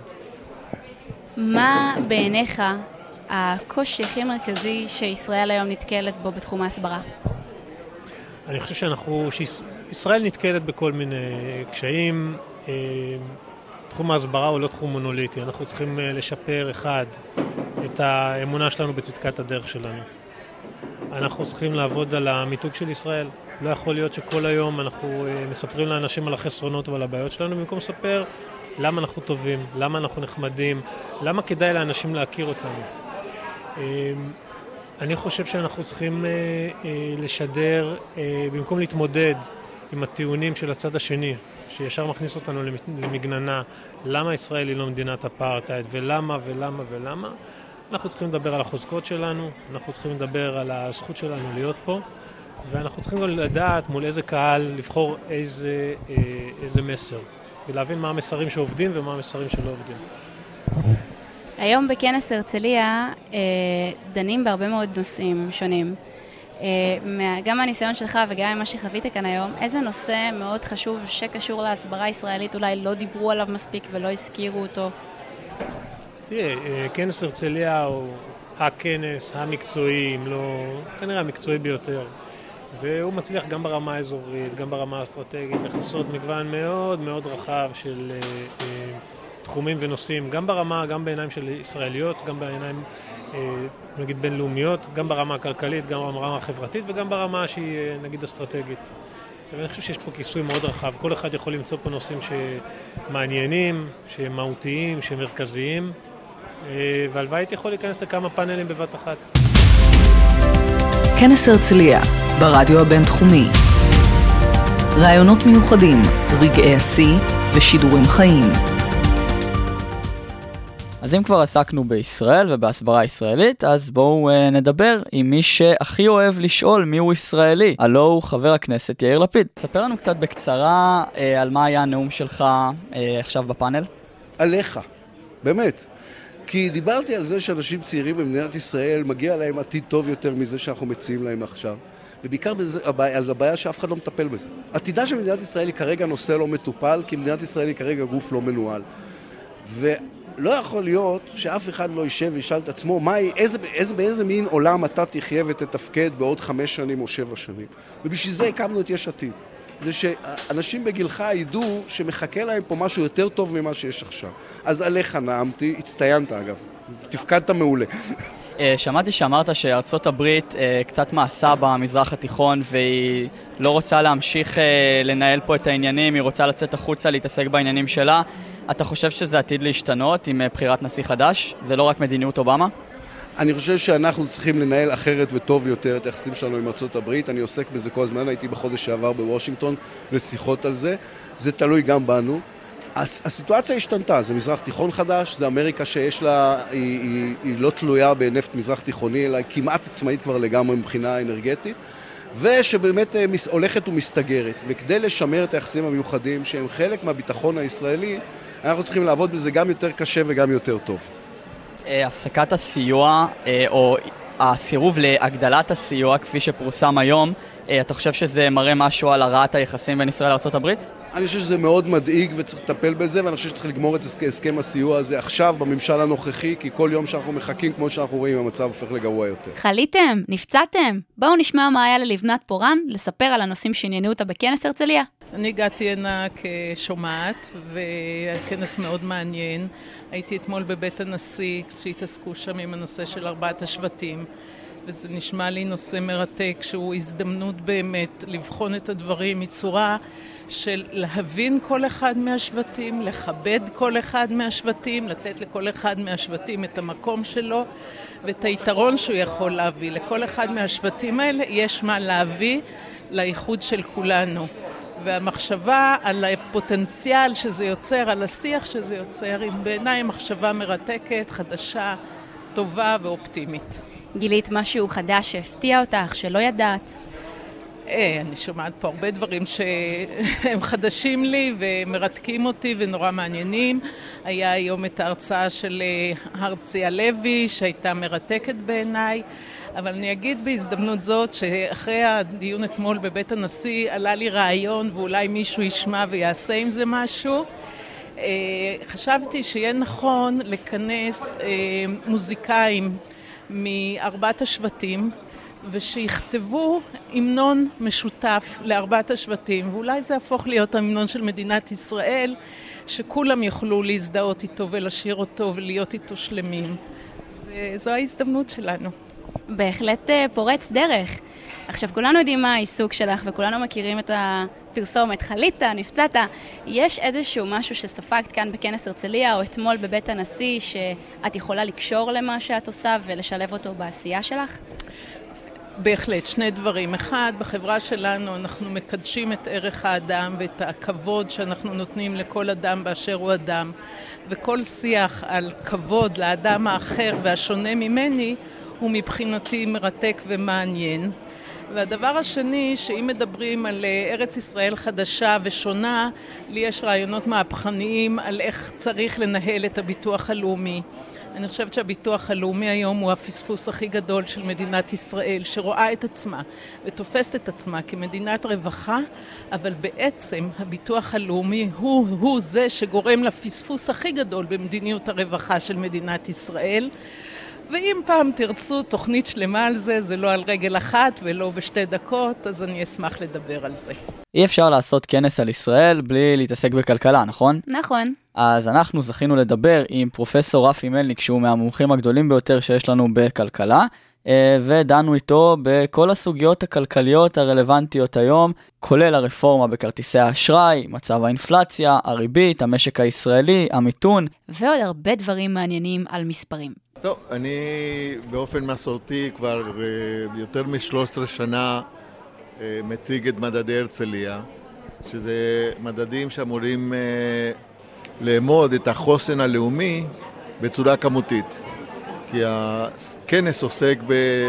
מה בעיניך הקושי הכי מרכזי שישראל היום נתקלת בו בתחום ההסברה? אני חושב שישראל נתקלת בכל מיני קשיים. תחום ההסברה הוא לא תחום מונוליטי. אנחנו צריכים לשפר את האמונה שלנו בצדקת הדרך שלנו. אנחנו צריכים לעבוד על המיתוג של ישראל. לא יכול להיות שכל היום אנחנו מספרים לאנשים על החסרונות ועל הבעיות שלנו, במקום לספר למה אנחנו טובים, למה אנחנו נחמדים, למה כדאי לאנשים להכיר אותנו. אני חושב שאנחנו צריכים לשדר, במקום להתמודד עם הטיעונים של הצד השני, שישר מכניס אותנו למגננה, למה ישראל היא לא מדינת אפרטהייד, ולמה ולמה ולמה. אנחנו צריכים לדבר על החוזקות שלנו, אנחנו צריכים לדבר על הזכות שלנו להיות פה, ואנחנו צריכים גם לדעת מול איזה קהל לבחור איזה מסר. ולהבין מה המסרים שעובדים ומה המסרים שלא עובדים. היום בכנס הרצליה דנים בהרבה מאוד נושאים שונים. גם מהניסיון שלך וגם ממה שחווית כאן היום, איזה נושא מאוד חשוב שקשור להסברה הישראלית אולי לא דיברו עליו מספיק ולא הזכירו אותו? תראה, כנס הרצליה הוא הכנס המקצועי, אם לא, כנראה המקצועי ביותר. והוא מצליח גם ברמה האזורית, גם ברמה האסטרטגית, לחסות מגוון מאוד מאוד רחב של תחומים ונושאים, גם ברמה, גם בעיניים של ישראליות, גם בעיניים, נגיד, בינלאומיות, גם ברמה הכלכלית, גם ברמה החברתית, וגם ברמה שהיא, נגיד, אסטרטגית. ואני חושב שיש פה כיסוי מאוד רחב. כל אחד יכול למצוא פה נושאים שמעניינים, שמהותיים, שמרכזיים, והלוואי הייתי יכול להיכנס לכמה פאנלים בבת אחת. כנס הרצליה, ברדיו הבינתחומי. רעיונות מיוחדים, רגעי השיא ושידורים חיים. אז אם כבר עסקנו בישראל ובהסברה ישראלית, אז בואו נדבר עם מי שהכי אוהב לשאול מי הוא ישראלי. הלו הוא חבר הכנסת יאיר לפיד. ספר לנו קצת בקצרה על מה היה הנאום שלך עכשיו בפאנל. עליך, באמת. כי דיברתי על זה שאנשים צעירים במדינת ישראל מגיע להם עתיד טוב יותר מזה שאנחנו מציעים להם עכשיו. ובעיקר על הבעיה שאף אחד לא מטפל בזה. עתידה של מדינת ישראל היא כרגע נושא לא מטופל, כי מדינת ישראל היא כרגע גוף לא מנוהל. ולא יכול להיות שאף אחד לא יישב וישאל את עצמו באיזה מין עולם אתה תחיה ותתפקד בעוד 5 שנים או 7 שנים. ובשביל זה הקמנו את יש עתיד. זה שאנשים בגילך ידעו שמחכה להם פה משהו יותר טוב ממה שיש עכשיו. אז עליך נעמתי, הצטיינת אגב, תפקדת מעולה. שמעתי שאמרת שארצות הברית קצת מעשה במזרח התיכון והיא לא רוצה להמשיך לנהל פה את העניינים, היא רוצה לצאת החוצה להתעסק בעניינים שלה. אתה חושב שזה עתיד להשתנות עם בחירת נשיא חדש? זה לא רק מדיניות אובמה? אני חושב שאנחנו צריכים לנהל אחרת וטוב יותר את היחסים שלנו עם ארצות הברית. אני עוסק בזה כל הזמן, הייתי בחודש שעבר בוושינגטון לשיחות על זה. זה תלוי גם בנו. הסיטואציה השתנתה, זה מזרח תיכון חדש, זה אמריקה שיש לה, היא לא תלויה בנפט מזרח תיכוני, אלא היא כמעט עצמאית כבר לגמרי מבחינה אנרגטית, ושבאמת הולכת ומסתגרת. וכדי לשמר את היחסים המיוחדים שהם חלק מהביטחון הישראלי, אנחנו צריכים לעבוד בזה גם יותר קשה וגם יותר טוב. הפסקת הסיוע, או הסירוב להגדלת הסיוע כפי שפורסם היום, אתה חושב שזה מראה משהו על הרעת היחסים בין ישראל לארצות הברית? אני חושב שזה מאוד מדאיג וצריך לטפל בזה, ואני חושב שצריך לגמור את הסכם הסיוע הזה עכשיו בממשל הנוכחי, כי כל יום שאנחנו מחכים, כמו שאנחנו רואים, המצב הופך לגרוע יותר. חליתם? נפצעתם? בואו נשמע מה היה ללבנת פורן לספר על הנושאים שעניינו אותה בכנס הרצליה. אני הגעתי הנה כשומעת, והכנס מאוד מעניין. הייתי אתמול בבית הנשיא, שהתעסקו שם עם הנושא של 4 השבטים. וזה נשמע לי נושא מרתק, שהוא הזדמנות באמת לבחון את הדברים מצורה של להבין כל אחד מהשבטים, לכבד כל אחד מהשבטים, לתת לכל אחד מהשבטים את המקום שלו, ואת היתרון שהוא יכול להביא. לכל אחד מהשבטים האלה יש מה להביא לאיחוד של כולנו. והמחשבה על הפוטנציאל שזה יוצר, על השיח שזה יוצר, היא בעיניי מחשבה מרתקת, חדשה, טובה ואופטימית. גילית משהו חדש שהפתיע אותך, שלא ידעת? אני שומעת פה הרבה דברים שהם חדשים לי ומרתקים אותי ונורא מעניינים. היה היום את ההרצאה של הרצי הלוי שהייתה מרתקת בעיניי, אבל אני אגיד בהזדמנות זאת שאחרי הדיון אתמול בבית הנשיא עלה לי רעיון ואולי מישהו ישמע ויעשה עם זה משהו. חשבתי שיהיה נכון לכנס מוזיקאים מ4 השבטים ושיכתבו המנון משותף ל4 השבטים, ואולי זה יהפוך להיות המנון של מדינת ישראל, שכולם יוכלו להזדהות איתו ולשיר אותו ולהיות איתו שלמים. וזו ההזדמנות שלנו. בהחלט פורץ דרך. עכשיו, כולנו יודעים מה העיסוק שלך, וכולנו מכירים את הפרסומת, חלית, נפצעת. יש איזשהו משהו שספגת כאן בכנס הרצליה, או אתמול בבית הנשיא, שאת יכולה לקשור למה שאת עושה ולשלב אותו בעשייה שלך? בהחלט, 2 דברים. אחד, בחברה שלנו אנחנו מקדשים את ערך האדם ואת הכבוד שאנחנו נותנים לכל אדם באשר הוא אדם, וכל שיח על כבוד לאדם האחר והשונה ממני הוא מבחינתי מרתק ומעניין. והדבר השני, שאם מדברים על ארץ ישראל חדשה ושונה, לי יש רעיונות מהפכניים על איך צריך לנהל את הביטוח הלאומי. אני חושבת שהביטוח הלאומי היום הוא הפספוס הכי גדול של מדינת ישראל, שרואה את עצמה ותופסת את עצמה כמדינת רווחה, אבל בעצם הביטוח הלאומי הוא זה שגורם לפספוס הכי גדול במדיניות הרווחה של מדינת ישראל. ואם פעם תרצו תוכנית שלמה על זה, זה לא על רגל אחת ולא ב2 דקות, אז אני אשמח לדבר על זה. אי אפשר לעשות כנס על ישראל בלי להתעסק בכלכלה, נכון? נכון. אז אנחנו זכינו לדבר עם פרופסור רפי מלניק, שהוא מהמומחים הגדולים ביותר שיש לנו בכלכלה, ודנו איתו בכל הסוגיות הכלכליות הרלוונטיות היום, כולל הרפורמה בכרטיסי האשראי, מצב האינפלציה, הריבית, המשק הישראלי, המיתון, ועוד הרבה דברים מעניינים על מספרים. טוב, אני באופן מסורתי כבר יותר מ-13 שנה מציג את מדדי הרצליה, שזה מדדים שאמורים לאמוד את החוסן הלאומי בצורה כמותית. כי הכנס עוסק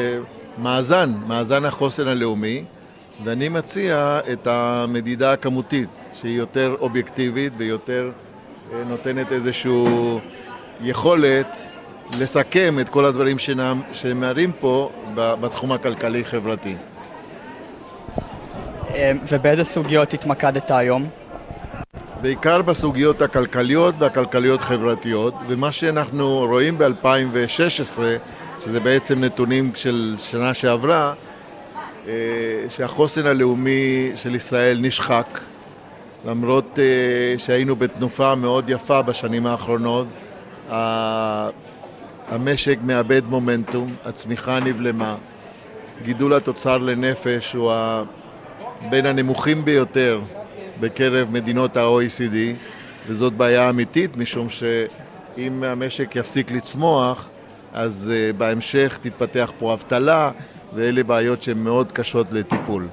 מאזן החוסן הלאומי, ואני מציע את המדידה הכמותית, שהיא יותר אובייקטיבית ויותר נותנת איזושהי יכולת לסכם את כל הדברים שמראים פה בתחום הכלכלי-חברתי. ובאיזה סוגיות התמקדת היום? בעיקר בסוגיות הכלכליות והכלכליות-חברתיות, ומה שאנחנו רואים ב-2016, שזה בעצם נתונים של שנה שעברה, שהחוסן הלאומי של ישראל נשחק, למרות שהיינו בתנופה מאוד יפה בשנים האחרונות. המשק מאבד מומנטום, הצמיחה נבלמה, גידול התוצר לנפש הוא בין הנמוכים ביותר בקרב מדינות ה-OECD, וזאת בעיה אמיתית, משום שאם המשק יפסיק לצמוח, אז בהמשך תתפתח פה אבטלה, ואלה בעיות שהן מאוד קשות לטיפול.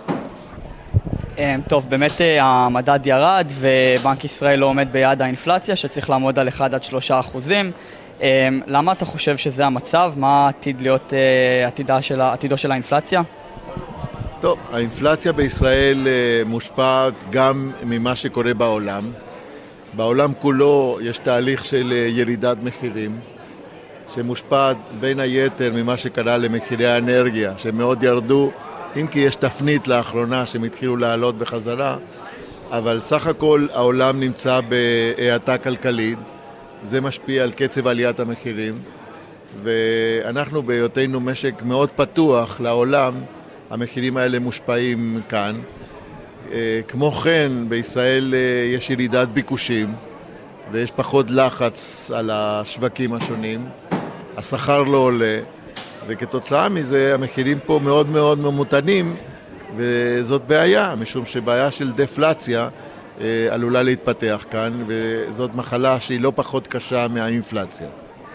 טוב, באמת המדד ירד, ובנק ישראל לא עומד ביעד האינפלציה, שצריך לעמוד על 1-3%. למה אתה חושב שזה המצב? מה עתיד להיות עתידו של האינפלציה? טוב, האינפלציה בישראל מושפעת גם ממה שקורה בעולם. בעולם כולו יש תהליך של ירידת מחירים, שמושפעת בין היתר ממה שקרה למחירי האנרגיה, שמאוד ירדו, אם כי יש תפנית לאחרונה שהם התחילו לעלות בחזרה, אבל סך הכל העולם נמצא בהאטה כלכלית, זה משפיע על קצב עליית המחירים, ואנחנו בהיותנו משק מאוד פתוח לעולם, המחירים האלה מושפעים כאן. כמו כן, בישראל יש ירידת ביקושים, ויש פחות לחץ על השווקים השונים, השכר לא עולה, וכתוצאה מזה המחירים פה מאוד מאוד ממותנים, וזאת בעיה, משום שבעיה של דפלציה עלולה להתפתח כאן, וזאת מחלה שהיא לא פחות קשה מהאינפלציה.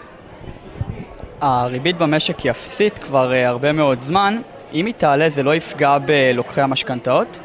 הריבית במשק היא אפסית כבר הרבה מאוד זמן. אם היא תעלה, זה לא יפגע בלוקחי המשכנתאות?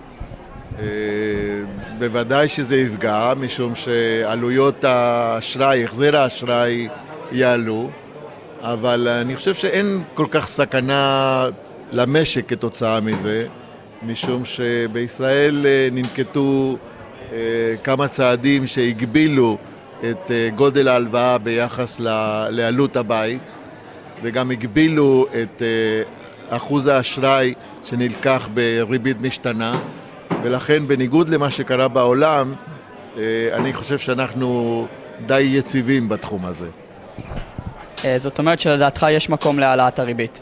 בוודאי שזה יפגע, משום שעלויות האשראי, החזר האשראי יעלו, אבל אני חושב שאין כל כך סכנה למשק כתוצאה מזה, משום שבישראל ננקטו כמה צעדים שהגבילו את גודל ההלוואה ביחס לעלות הבית, וגם הגבילו את אחוז האשראי שנלקח בריבית משתנה, ולכן בניגוד למה שקרה בעולם, אני חושב שאנחנו די יציבים בתחום הזה. זאת אומרת שלדעתך יש מקום להעלאת הריבית?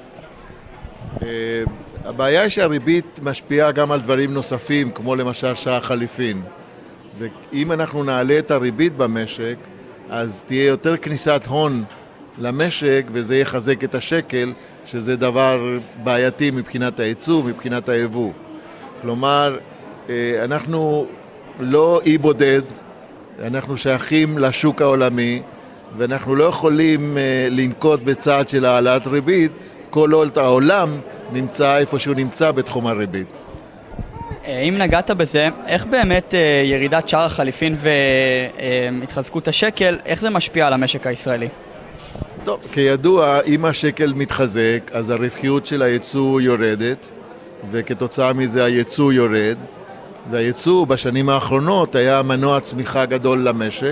הבעיה היא שהריבית משפיעה גם על דברים נוספים, כמו למשל שער חליפין. ואם אנחנו נעלה את הריבית במשק, אז תהיה יותר כניסת הון למשק, וזה יחזק את השקל, שזה דבר בעייתי מבחינת הייצוא, מבחינת היבוא. כלומר, אנחנו לא אי בודד, אנחנו שייכים לשוק העולמי, ואנחנו לא יכולים לנקוט בצעד של העלאת ריבית, כל עוד העולם נמצא איפה שהוא נמצא בתחום הריבית. אם נגעת בזה, איך באמת ירידת שער החליפין והתחזקות השקל, איך זה משפיע על המשק הישראלי? טוב, כידוע, אם השקל מתחזק, אז הרווחיות של הייצוא יורדת, וכתוצאה מזה הייצוא יורד, והייצוא בשנים האחרונות היה מנוע צמיחה גדול למשק,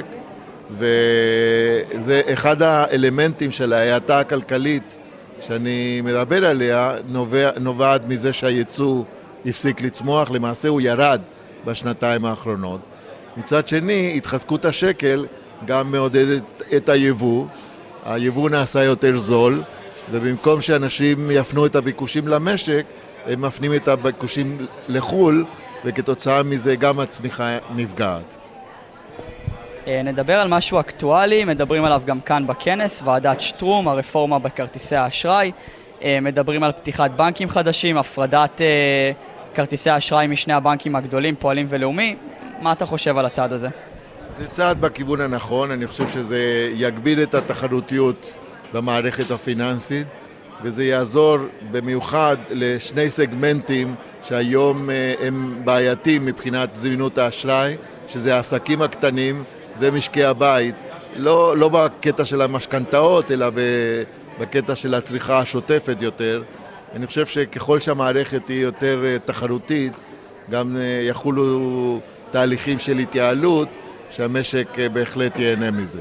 וזה אחד האלמנטים של ההאטה הכלכלית שאני מדבר עליה, נובעת מזה שהייצוא הפסיק לצמוח, למעשה הוא ירד בשנתיים האחרונות. מצד שני, התחזקות השקל גם מעודדת את היבוא, היבוא נעשה יותר זול, ובמקום שאנשים יפנו את הביקושים למשק, הם מפנים את הביקושים לחול, וכתוצאה מזה גם הצמיחה נפגעת. נדבר על משהו אקטואלי, מדברים עליו גם כאן בכנס, ועדת שטרום, הרפורמה בכרטיסי האשראי, מדברים על פתיחת בנקים חדשים, הפרדת כרטיסי האשראי משני הבנקים הגדולים, פועלים ולאומי. מה אתה חושב על הצעד הזה? זה צעד בכיוון הנכון, אני חושב שזה יגביל את התחרותיות במערכת הפיננסית, וזה יעזור במיוחד לשני סגמנטים שהיום הם בעייתיים מבחינת זמינות האשראי, שזה העסקים הקטנים ומשקי הבית, לא בקטע של המשכנתאות, אלא בקטע של הצריכה השוטפת יותר. אני חושב שככל שהמערכת היא יותר תחרותית, גם יחולו תהליכים של התייעלות, שהמשק בהחלט ייהנה מזה.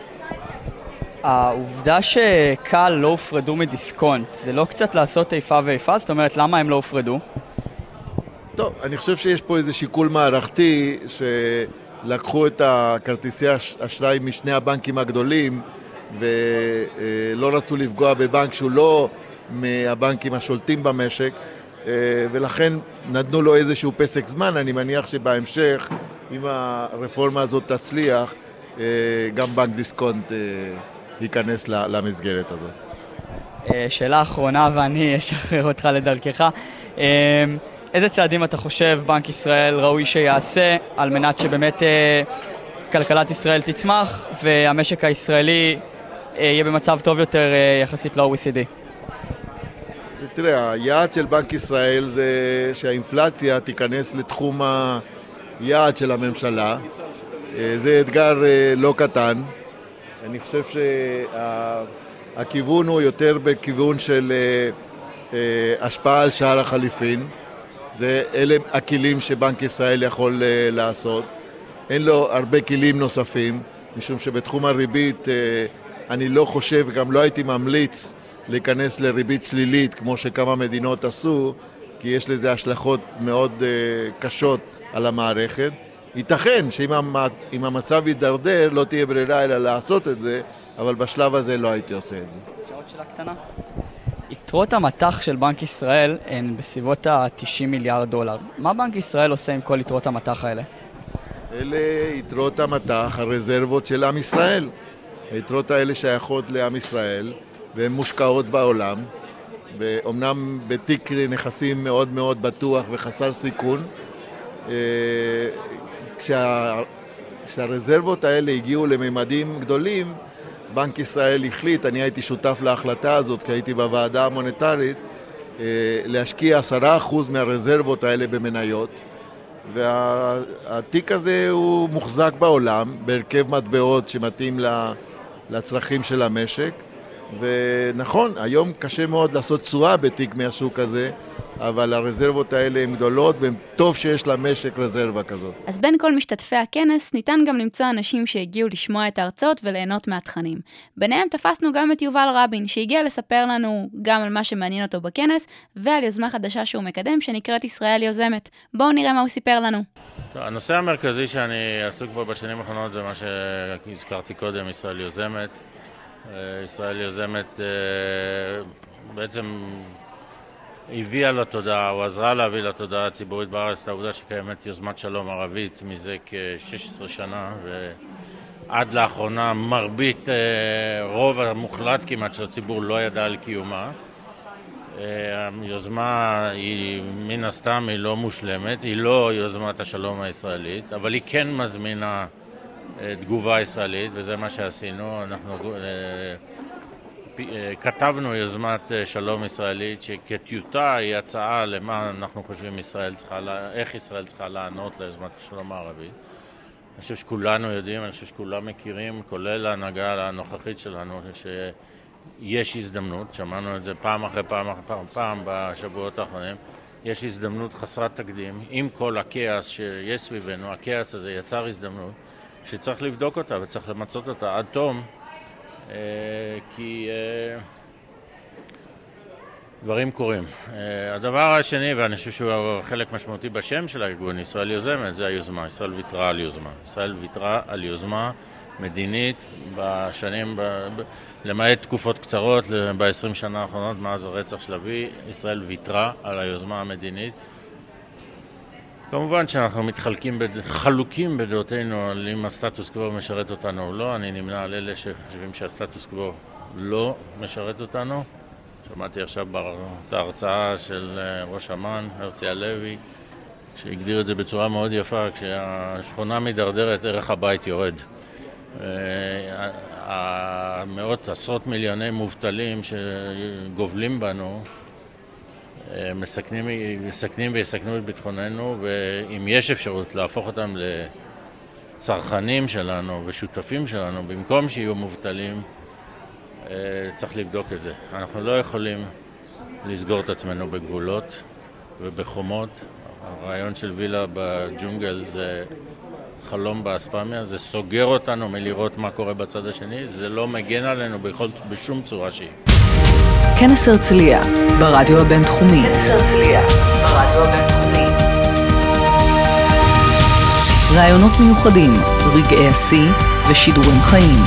העובדה שקל לא הופרדו מדיסקונט, זה לא קצת לעשות איפה ואיפה? זאת אומרת, למה הם לא הופרדו? טוב, אני חושב שיש פה איזה שיקול מערכתי, שלקחו את הכרטיסי אשראי משני הבנקים הגדולים, ולא רצו לפגוע בבנק שהוא לא מהבנקים השולטים במשק, ולכן נתנו לו איזשהו פסק זמן. אני מניח שבהמשך, אם הרפורמה הזאת תצליח, גם בנק דיסקונט ייכנס למסגרת הזאת. שאלה אחרונה, ואני אשחרר אותך לדרכך. איזה צעדים אתה חושב בנק ישראל ראוי שיעשה על מנת שבאמת כלכלת ישראל תצמח והמשק הישראלי יהיה במצב טוב יותר יחסית ל-OECD? תראה, היעד של בנק ישראל זה שהאינפלציה תיכנס לתחום היעד של הממשלה. זה אתגר לא קטן. אני חושב שהכיוון הוא יותר בכיוון של השפעה על שער החליפין. אלה הכלים שבנק ישראל יכול לעשות. אין לו הרבה כלים נוספים, משום שבתחום הריבית אני לא חושב, גם לא הייתי ממליץ להיכנס לריבית שלילית כמו שכמה מדינות עשו, כי יש לזה השלכות מאוד קשות על המערכת. ייתכן שאם המצב יידרדר לא תהיה ברירה אלא לעשות את זה, אבל בשלב הזה לא הייתי עושה את זה. שעוד שאלה קטנה. יתרות המטח של בנק ישראל הן בסביבות ה-90 מיליארד דולר. מה בנק ישראל עושה עם כל יתרות המטח האלה? אלה יתרות המטח, הרזרבות של עם ישראל. היתרות האלה שייכות לעם ישראל והן מושקעות בעולם, ואומנם בתיק נכסים מאוד מאוד בטוח וחסר סיכון. כשהרזרבות האלה הגיעו לממדים גדולים, בנק ישראל החליט, אני הייתי שותף להחלטה הזאת, כי הייתי בוועדה המוניטרית, להשקיע 10% מהרזרבות האלה במניות, והתיק הזה הוא מוחזק בעולם, בהרכב מטבעות שמתאים לצרכים של המשק, ונכון, היום קשה מאוד לעשות תשואה בתיק מהשוק הזה, אבל הרזרבות האלה הן גדולות, וטוב שיש למשק רזרבה כזאת. אז בין כל משתתפי הכנס ניתן גם למצוא אנשים שהגיעו לשמוע את ההרצאות וליהנות מהתכנים. ביניהם תפסנו גם את יובל רבין, שהגיע לספר לנו גם על מה שמעניין אותו בכנס, ועל יוזמה חדשה שהוא מקדם, שנקראת ישראל יוזמת. בואו נראה מה הוא סיפר לנו. הנושא המרכזי שאני עסוק בו בשנים האחרונות זה מה שהזכרתי קודם, ישראל יוזמת. ישראל יוזמת בעצם הביאה לתודעה, או עזרה להביא לתודעה הציבורית בארץ, את העובדה שקיימת יוזמת שלום ערבית מזה כ-16 שנה, ועד לאחרונה מרבית, רוב המוחלט כמעט של הציבור לא ידע על קיומה. היוזמה היא מן הסתם היא לא מושלמת, היא לא יוזמת השלום הישראלית, אבל היא כן מזמינה תגובה ישראלית, וזה מה שעשינו. אנחנו כתבנו יוזמת שלום ישראלית שכטיוטה היא הצעה למה אנחנו חושבים איך ישראל צריכה לענות ליוזמת השלום הערבית. אני חושב שכולנו יודעים, אני חושב שכולם מכירים, כולל ההנהגה הנוכחית שלנו, שיש הזדמנות, שמענו את זה פעם אחרי פעם בשבועות האחרונים, יש הזדמנות חסרת תקדים, עם כל הכעס שיש סביבנו, הכעס הזה יצר הזדמנות שצריך לבדוק אותה וצריך למצות אותה עד תום, כי דברים קורים. הדבר השני, ואני חושב שהוא חלק משמעותי בשם של הארגון, ישראל יוזמת, זה היוזמה. ישראל ויתרה על יוזמה. ישראל ויתרה על יוזמה מדינית בשנים, למעט תקופות קצרות, ב-20 שנה האחרונות, מאז הרצח של אבי, ישראל ויתרה על היוזמה המדינית. כמובן שאנחנו חלוקים בדעותינו על אם הסטטוס קוו משרת אותנו או לא. אני נמנה על אלה שחושבים שהסטטוס קוו לא משרת אותנו. שמעתי עכשיו את ההרצאה של ראש אמ"ן, הרצי הלוי, שהגדיר את זה בצורה מאוד יפה, כשהשכונה מדרדרת, ערך הבית יורד. המאות, עשרות מיליוני מובטלים שגובלים בנו, מסכנים ויסכנו את ביטחוננו, ואם יש אפשרות להפוך אותם צרכנים שלנו ושותפים שלנו, במקום שיהיו מובטלים, צריך לבדוק את זה. אנחנו לא יכולים לסגור את עצמנו בגבולות ובחומות. הרעיון של וילה בג'ונגל זה חלום באספמיה, זה סוגר אותנו מלראות מה קורה בצד השני, זה לא מגן עלינו בשום צורה שהיא. כנס הרצליה, ברדיו הבינתחומי. כנס הרצליה, ברדיו הבינתחומי. רעיונות מיוחדים, רגעי השיא ושידורים חיים.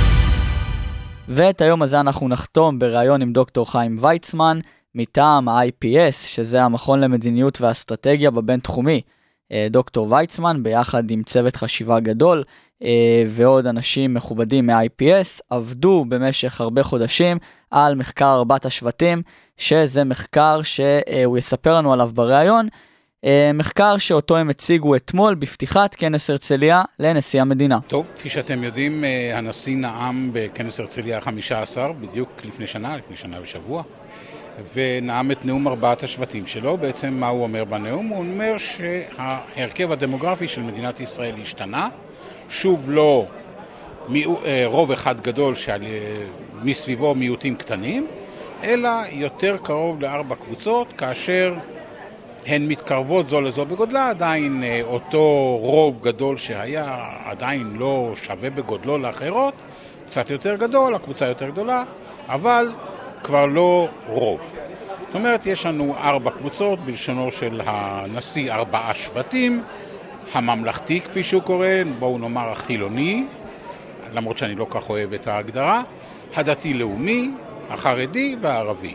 ואת היום הזה אנחנו נחתום בראיון עם דוקטור חיים ויצמן, מטעם ה-IPS, שזה המכון למדיניות ואסטרטגיה בבינתחומי. דוקטור ויצמן, ביחד עם צוות חשיבה גדול, ועוד אנשים מכובדים מ-IPS, עבדו במשך הרבה חודשים על מחקר ארבעת השבטים, שזה מחקר שהוא יספר לנו עליו בראיון, מחקר שאותו הם הציגו אתמול בפתיחת כנס הרצליה לנשיא המדינה. טוב, כפי שאתם יודעים, הנשיא נאם בכנס הרצליה 15, בדיוק לפני שנה ושבוע, ונאם את נאום ארבעת השבטים שלו. בעצם מה הוא אומר בנאום? הוא אומר שההרכב הדמוגרפי של מדינת ישראל השתנה, שוב לא רוב אחד גדול מסביבו מיעוטים קטנים, אלא יותר קרוב לארבע קבוצות, כאשר הן מתקרבות זו לזו בגודלה, עדיין אותו רוב גדול שהיה עדיין לא שווה בגודלו לאחרות, קצת יותר גדול, הקבוצה יותר גדולה, אבל כבר לא רוב. זאת אומרת, יש לנו ארבע קבוצות, בלשונו של הנשיא ארבעה שבטים, הממלכתי כפי שהוא קורא, בואו נאמר החילוני, למרות שאני לא כך אוהב את ההגדרה, הדתי-לאומי, החרדי והערבי.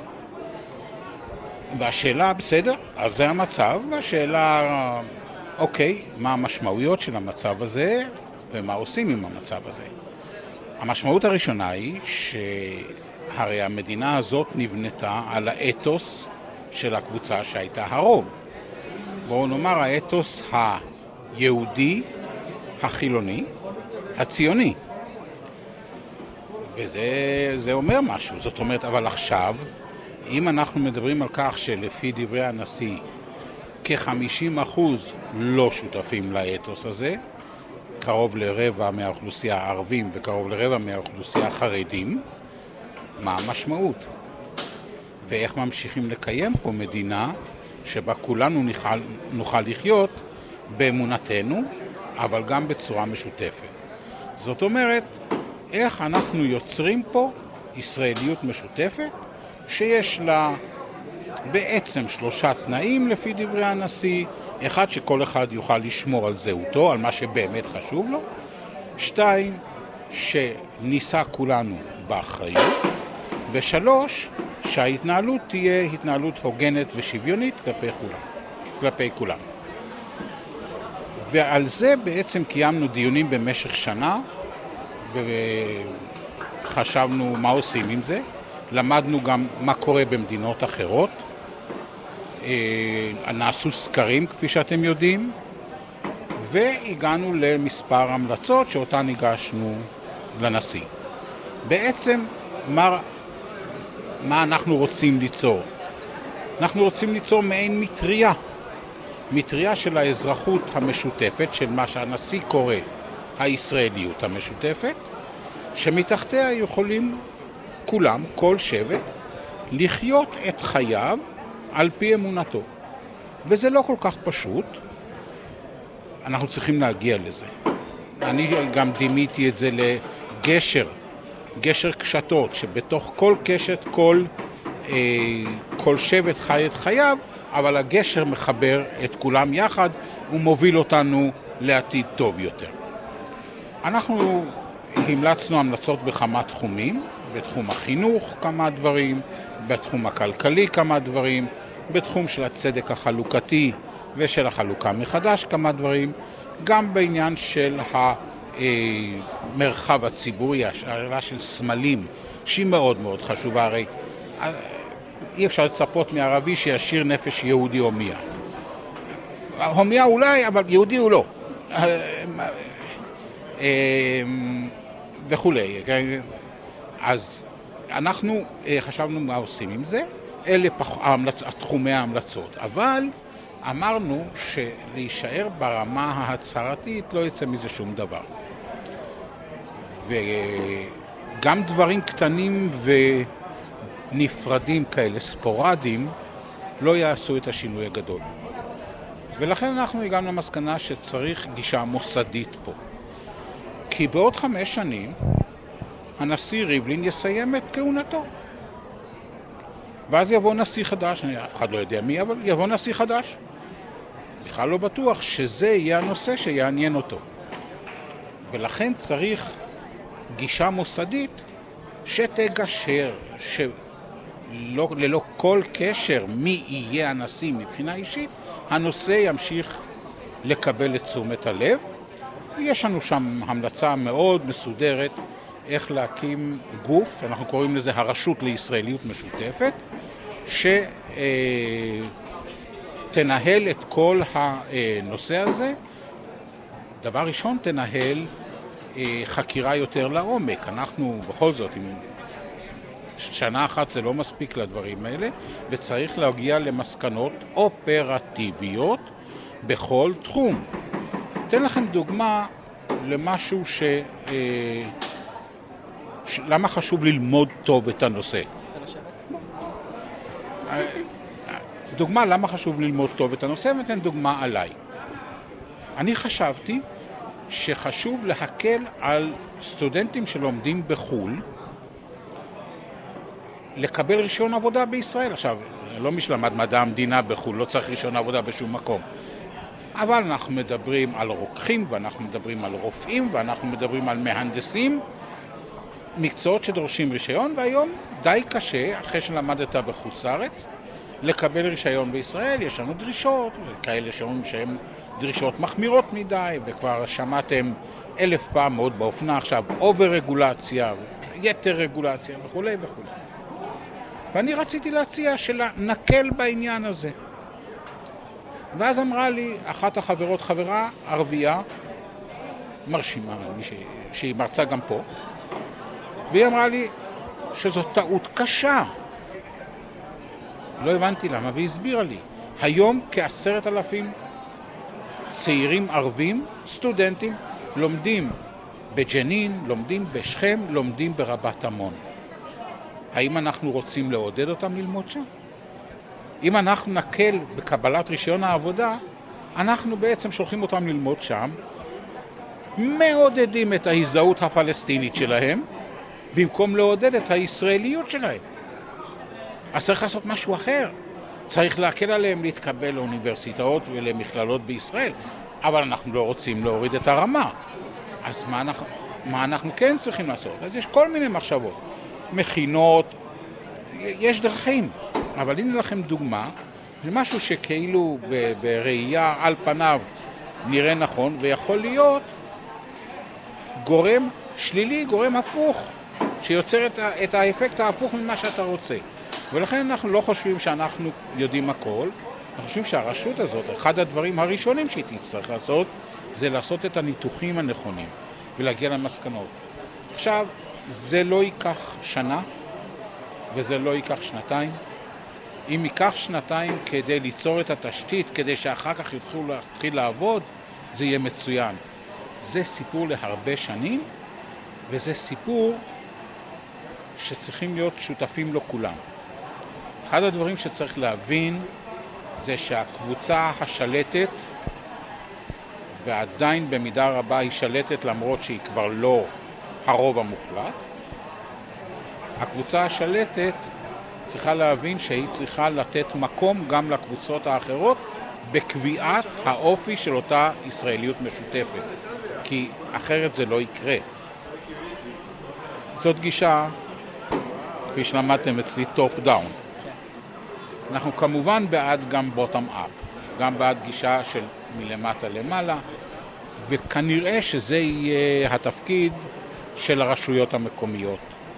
והשאלה, בסדר, אז זה המצב, והשאלה, אוקיי, מה המשמעויות של המצב הזה, ומה עושים עם המצב הזה. המשמעות הראשונה היא שהרי המדינה הזאת נבנתה על האתוס של הקבוצה שהייתה הרוב. בואו נאמר האתוס היהודי, החילוני, הציוני. וזה אומר משהו, זאת אומרת, אבל עכשיו, אם אנחנו מדברים על כך שלפי דברי הנשיא, כ-50% לא שותפים לאתוס הזה, קרוב לרבע מהאוכלוסייה הערבים וקרוב לרבע מהאוכלוסייה החרדים, מה המשמעות? ואיך ממשיכים לקיים פה מדינה שבה כולנו נוכל לחיות באמונתנו, אבל גם בצורה משותפת. זאת אומרת, איך אנחנו יוצרים פה ישראליות משותפת, שיש לה בעצם שלושה תנאים לפי דברי הנשיא. אחד, שכל אחד יוכל לשמור על זהותו, על מה שבאמת חשוב לו. 2, שניסה כולנו באחריות. ו3, שההתנהלות תהיה התנהלות הוגנת ושוויונית כלפי כולם. ועל זה בעצם קיימנו דיונים במשך שנה, וחשבנו מה עושים עם זה. למדנו גם מה קורה במדינות אחרות. נעשו סקרים, כפי שאתם יודעים, והגענו למספר המלצות שאותן הגשנו לנשיא. בעצם, מה אנחנו רוצים ליצור? אנחנו רוצים ליצור מעין מטריה של האזרחות המשותפת, של מה שהנשיא קורא הישראליות המשותפת, שמתחתיה יכולים כולם, כל שבט, לחיות את חייו על פי אמונתו. וזה לא כל כך פשוט. אנחנו צריכים להגיע לזה. אני גם דימיתי את זה לגשר קשתות, שבתוך כל קשת, כל שבט חי את חייו, אבל הגשר מחבר את כולם יחד ומוביל אותנו לעתיד טוב יותר. אנחנו המלצנו המלצות בכמה תחומים, בתחום החינוך כמה דברים, בתחום הכלכלי כמה דברים, בתחום של הצדק החלוקתי ושל החלוקה מחדש כמה דברים, גם בעניין של המרחב הציבורי, השאלה של סמלים, שהיא מאוד מאוד חשובה. הרי אי אפשר לצפות מערבי שישיר נפש יהודי הומיה. הומיה אולי, אבל יהודי הוא לא. וכולי. אז אנחנו חשבנו מה עושים עם זה, אלה תחומי ההמלצות. אבל אמרנו שלהישאר ברמה ההצהרתית לא יצא מזה שום דבר. וגם דברים קטנים ונפרדים כאלה, ספורדיים, לא יעשו את השינוי הגדול. ולכן אנחנו הגענו למסקנה שצריך גישה מוסדית פה. כי בעוד 5 שנים הנשיא ריבלין יסיים את כהונתו. ואז יבוא נשיא חדש, אף אחד לא יודע מי, אבל יבוא נשיא חדש. בכלל לא בטוח שזה יהיה הנושא שיעניין אותו. ולכן צריך גישה מוסדית שתגשר, ללא כל קשר מי יהיה הנשיא מבחינה אישית, הנושא ימשיך לקבל את תשומת הלב. יש לנו שם המלצה מאוד מסודרת איך להקים גוף, אנחנו קוראים לזה הרשות לישראליות משותפת, שתנהל את כל הנושא הזה. דבר ראשון, תנהל חקירה יותר לעומק. אנחנו בכל זאת, עם שנה אחת זה לא מספיק לדברים האלה, וצריך להגיע למסקנות אופרטיביות בכל תחום. אתן לכם דוגמה למשהו למה חשוב ללמוד טוב את הנושא. דוגמה למה חשוב ללמוד טוב את הנושא, ואתן דוגמה עליי. אני חשבתי שחשוב להקל על סטודנטים שלומדים בחו"ל לקבל רישיון עבודה בישראל. עכשיו, לא מי שלמד מדע המדינה בחו"ל, לא צריך רישיון עבודה בשום מקום. אבל אנחנו מדברים על רוקחים, ואנחנו מדברים על רופאים, ואנחנו מדברים על מהנדסים, מקצועות שדורשים רישיון, והיום די קשה, אחרי שלמדת בחוץ לארץ, לקבל רישיון בישראל. יש לנו דרישות, כאלה שאומרים שהן דרישות מחמירות מדי, וכבר שמעתם 1000 פעם מאוד באופנה, עכשיו אובר רגולציה, יתר רגולציה וכו' וכו'. ואני רציתי להציע שנקל בעניין הזה. ואז אמרה לי אחת החברות, חברה ערבייה, מרשימה, שהיא מרצה גם פה, והיא אמרה לי שזו טעות קשה. לא הבנתי למה, והיא הסבירה לי. היום כ10,000 צעירים ערבים, סטודנטים, לומדים בג'נין, לומדים בשכם, לומדים ברבת עמון. האם אנחנו רוצים לעודד אותם ללמוד שם? אם אנחנו נקל בקבלת רישיון העבודה, אנחנו בעצם שולחים אותם ללמוד שם, מעודדים את ההזדהות הפלסטינית שלהם, במקום לעודד את הישראליות שלהם. אז צריך לעשות משהו אחר. צריך להקל עליהם להתקבל לאוניברסיטאות ולמכללות בישראל, אבל אנחנו לא רוצים להוריד את הרמה. אז מה אנחנו כן צריכים לעשות? אז יש כל מיני מחשבות. מכינות, יש דרכים. אבל הנה לכם דוגמה, זה משהו שכאילו בראייה על פניו נראה נכון, ויכול להיות גורם שלילי, גורם הפוך, שיוצר את האפקט ההפוך ממה שאתה רוצה. ולכן אנחנו לא חושבים שאנחנו יודעים הכל, אנחנו חושבים שהרשות הזאת, אחד הדברים הראשונים שהיא תצטרך לעשות, זה לעשות את הניתוחים הנכונים, ולהגיע למסקנות. עכשיו, זה לא ייקח שנה, וזה לא ייקח שנתיים. אם ייקח שנתיים כדי ליצור את התשתית, כדי שאחר כך יתחילו להתחיל לעבוד, זה יהיה מצוין. זה סיפור להרבה שנים, וזה סיפור שצריכים להיות שותפים לו כולם. אחד הדברים שצריך להבין זה שהקבוצה השלטת, ועדיין במידה רבה היא שלטת למרות שהיא כבר לא הרוב המוחלט, הקבוצה השלטת צריכה להבין שהיא צריכה לתת מקום גם לקבוצות האחרות בקביעת האופי של אותה ישראליות משותפת, כי אחרת זה לא יקרה. זאת גישה, כפי שלמדתם אצלי, טופ דאון. אנחנו כמובן בעד גם בוטום אפ, גם בעד גישה של מלמטה למעלה, וכנראה שזה יהיה התפקיד של הרשויות המקומיות.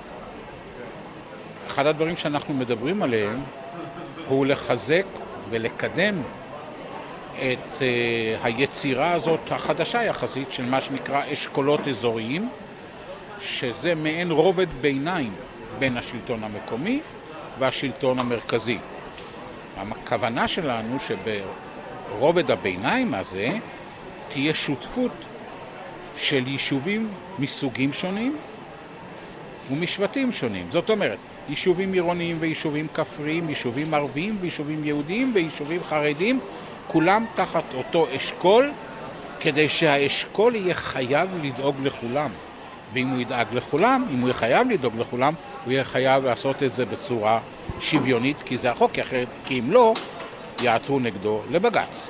אחד הדברים שאנחנו מדברים עליהם הוא לחזק ולקדם את היצירה הזאת החדשה יחסית של מה שנקרא אשכולות אזוריים, שזה מעין רובד ביניים בין השלטון המקומי והשלטון המרכזי. הכוונה שלנו ברובד הביניים הזה תהיה שותפות של יישובים מסוגים שונים ומשבטים שונים. זאת אומרת, יישובים עירוניים ויישובים כפריים, יישובים ערביים ויישובים יהודיים ויישובים חרדים, כולם תחת אותו אשכול, כדי שהאשכול יהיה חייב לדאוג לכולם. ואם הוא ידאג לכולם, אם הוא יהיה חייב לדאוג לכולם, הוא יהיה חייב לעשות את זה בצורה שוויונית, כי זה החוק, כי אם לא, יעתרו נגדו לבג"ץ.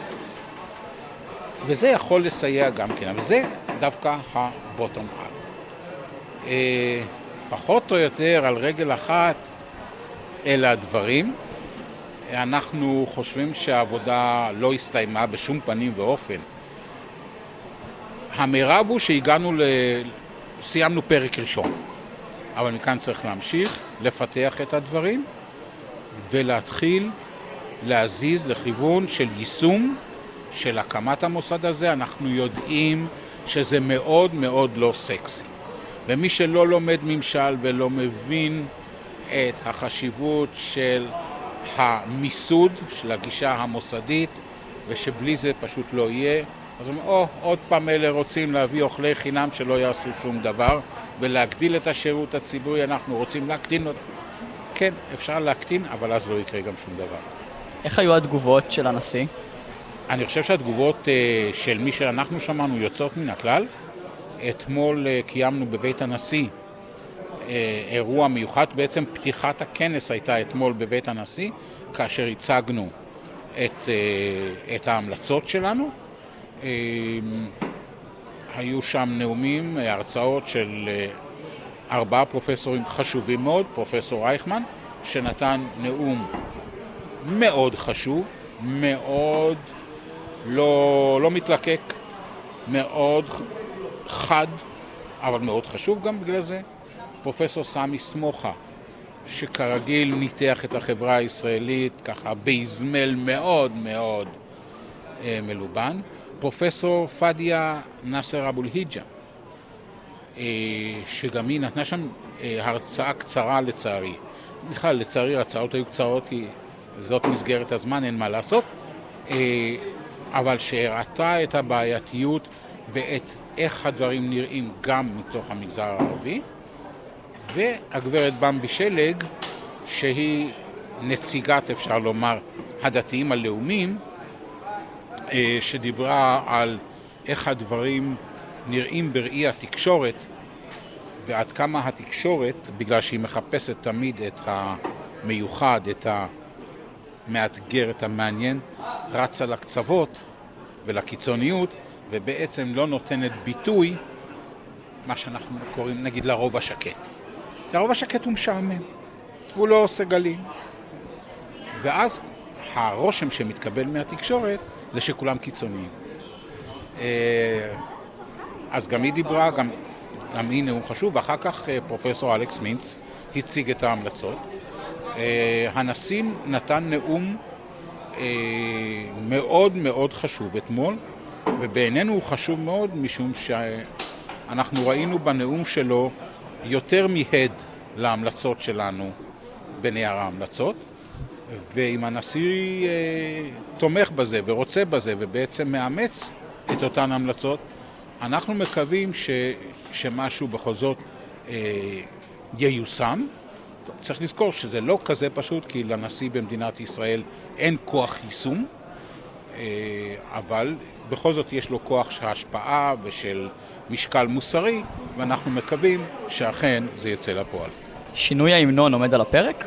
וזה יכול לסייע גם כן, אבל זה דווקא הבוטום אפ. פחות או יותר על רגל אחת אלה הדברים. אנחנו חושבים שהעבודה לא הסתיימה בשום פנים ואופן. המרב הוא שהגענו סיימנו פרק ראשון, אבל מכאן צריך להמשיך, לפתח את הדברים ולהתחיל להזיז לכיוון של יישום של הקמת המוסד הזה. אנחנו יודעים שזה מאוד מאוד לא סקסי. ומי שלא לומד ממשל ולא מבין את החשיבות של המיסוד, של הגישה המוסדית, ושבלי זה פשוט לא יהיה, אז עוד פעם אלה רוצים להביא אוכלי חינם שלא יעשו שום דבר, ולהגדיל את השירות הציבורי, אנחנו רוצים להקטין אותו. כן, אפשר להקטין, אבל אז לא יקרה גם שום דבר. איך היו התגובות של הנשיא? אני חושב שהתגובות של מי שאנחנו שמענו יוצאות מן הכלל. אתמול קיימנו בבית הנשיא אירוע מיוחד, בעצם פתיחת הכנס הייתה אתמול בבית הנשיא, כאשר הצגנו את ההמלצות שלנו. היו שם נאומים, הרצאות של 4 פרופסורים חשובים מאוד, פרופסור רייכמן, שנתן נאום מאוד חשוב, מאוד לא מתלקק, מאוד חד, אבל מאוד חשוב גם בגלל זה. פרופסור סמי סמוחה, שכרגיל ניתח את החברה הישראלית ככה בהזמל מאוד מאוד מלובן. פרופסור פדיה נאסר אבו אל-היג'ה, שגם היא נתנה שם הרצאה קצרה לצערי. בכלל, לצערי הרצאות היו קצרות כי זאת מסגרת הזמן, אין מה לעשות, אבל שהראתה את הבעייתיות ואת איך הדברים נראים גם מתוך המגזר הערבי. והגברת במבי שלג, שהיא נציגת, אפשר לומר, הדתיים הלאומיים, שדיברה על איך הדברים נראים בראי התקשורת, ועד כמה התקשורת, בגלל שהיא מחפשת תמיד את המיוחד, את המאתגר, את המעניין, רצה לקצוות ולקיצוניות, ובעצם לא נותנת ביטוי, מה שאנחנו קוראים נגיד לרוב השקט. הרוב השקט הוא משעמם, הוא לא עושה גלים. ואז הרושם שמתקבל מהתקשורת זה שכולם קיצוניים. אז גם היא דיברה, גם היא נאום חשוב, ואחר כך פרופסור אלכס מינץ הציג את ההמלצות. הנשיא נתן נאום מאוד מאוד חשוב אתמול, ובעינינו הוא חשוב מאוד משום שאנחנו ראינו בנאום שלו יותר מהד להמלצות שלנו בנייר ההמלצות, ואם הנשיא תומך בזה ורוצה בזה ובעצם מאמץ את אותן המלצות, אנחנו מקווים שמשהו בכל זאת ייושם. צריך לזכור שזה לא כזה פשוט, כי לנשיא במדינת ישראל אין כוח יישום, אבל בכל זאת יש לו כוח של השפעה ושל משקל מוסרי, ואנחנו מקווים שאכן זה יצא לפועל. שינוי ההמנון עומד על הפרק?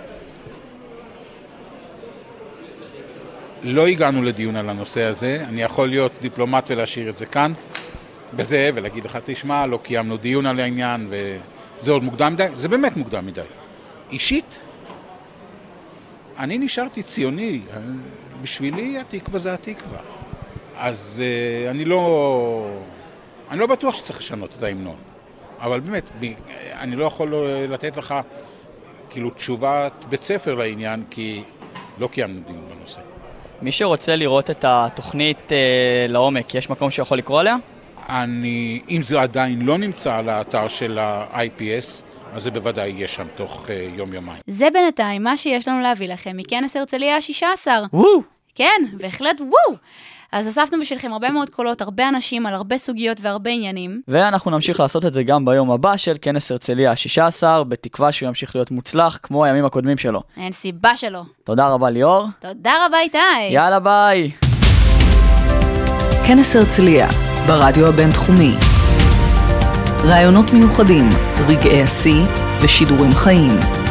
לא הגענו לדיון על הנושא הזה. אני יכול להיות דיפלומט ולהשאיר את זה כאן בזה ולהגיד לך, תשמע, לא קיימנו דיון על העניין וזה עוד מוקדם מדי. זה באמת מוקדם מדי. אישית, אני נשארתי ציוני. בשבילי התקווה זה התקווה. אז אני לא בטוח שצריך לשנות את ההמנון. אבל באמת, אני לא יכול לתת לך כאילו תשובת בית ספר לעניין, כי לא קיימנו דיון בנושא. מי שרוצה לראות את התוכנית לעומק, יש מקום שיכול לקרוא עליה? אם זה עדיין לא נמצא על האתר של ה-IPS, אז זה בוודאי יהיה שם תוך יום-יומיים. זה בינתיים מה שיש לנו להביא לכם מכנס הרצליה ה-16. כן, בהחלט וואו. אז אספנו בשבילכם הרבה מאוד קולות, הרבה אנשים על הרבה סוגיות והרבה עניינים. ואנחנו נמשיך לעשות את זה גם ביום הבא של כנס הרצליה ה-16, בתקווה שהוא ימשיך להיות מוצלח כמו הימים הקודמים שלו. אין סיבה שלו. תודה רבה ליאור. תודה רבה איתי. יאללה ביי. כנס הרצליה, ברדיו הבינתחומי. רעיונות מיוחדים, רגעי השיא ושידורים חיים.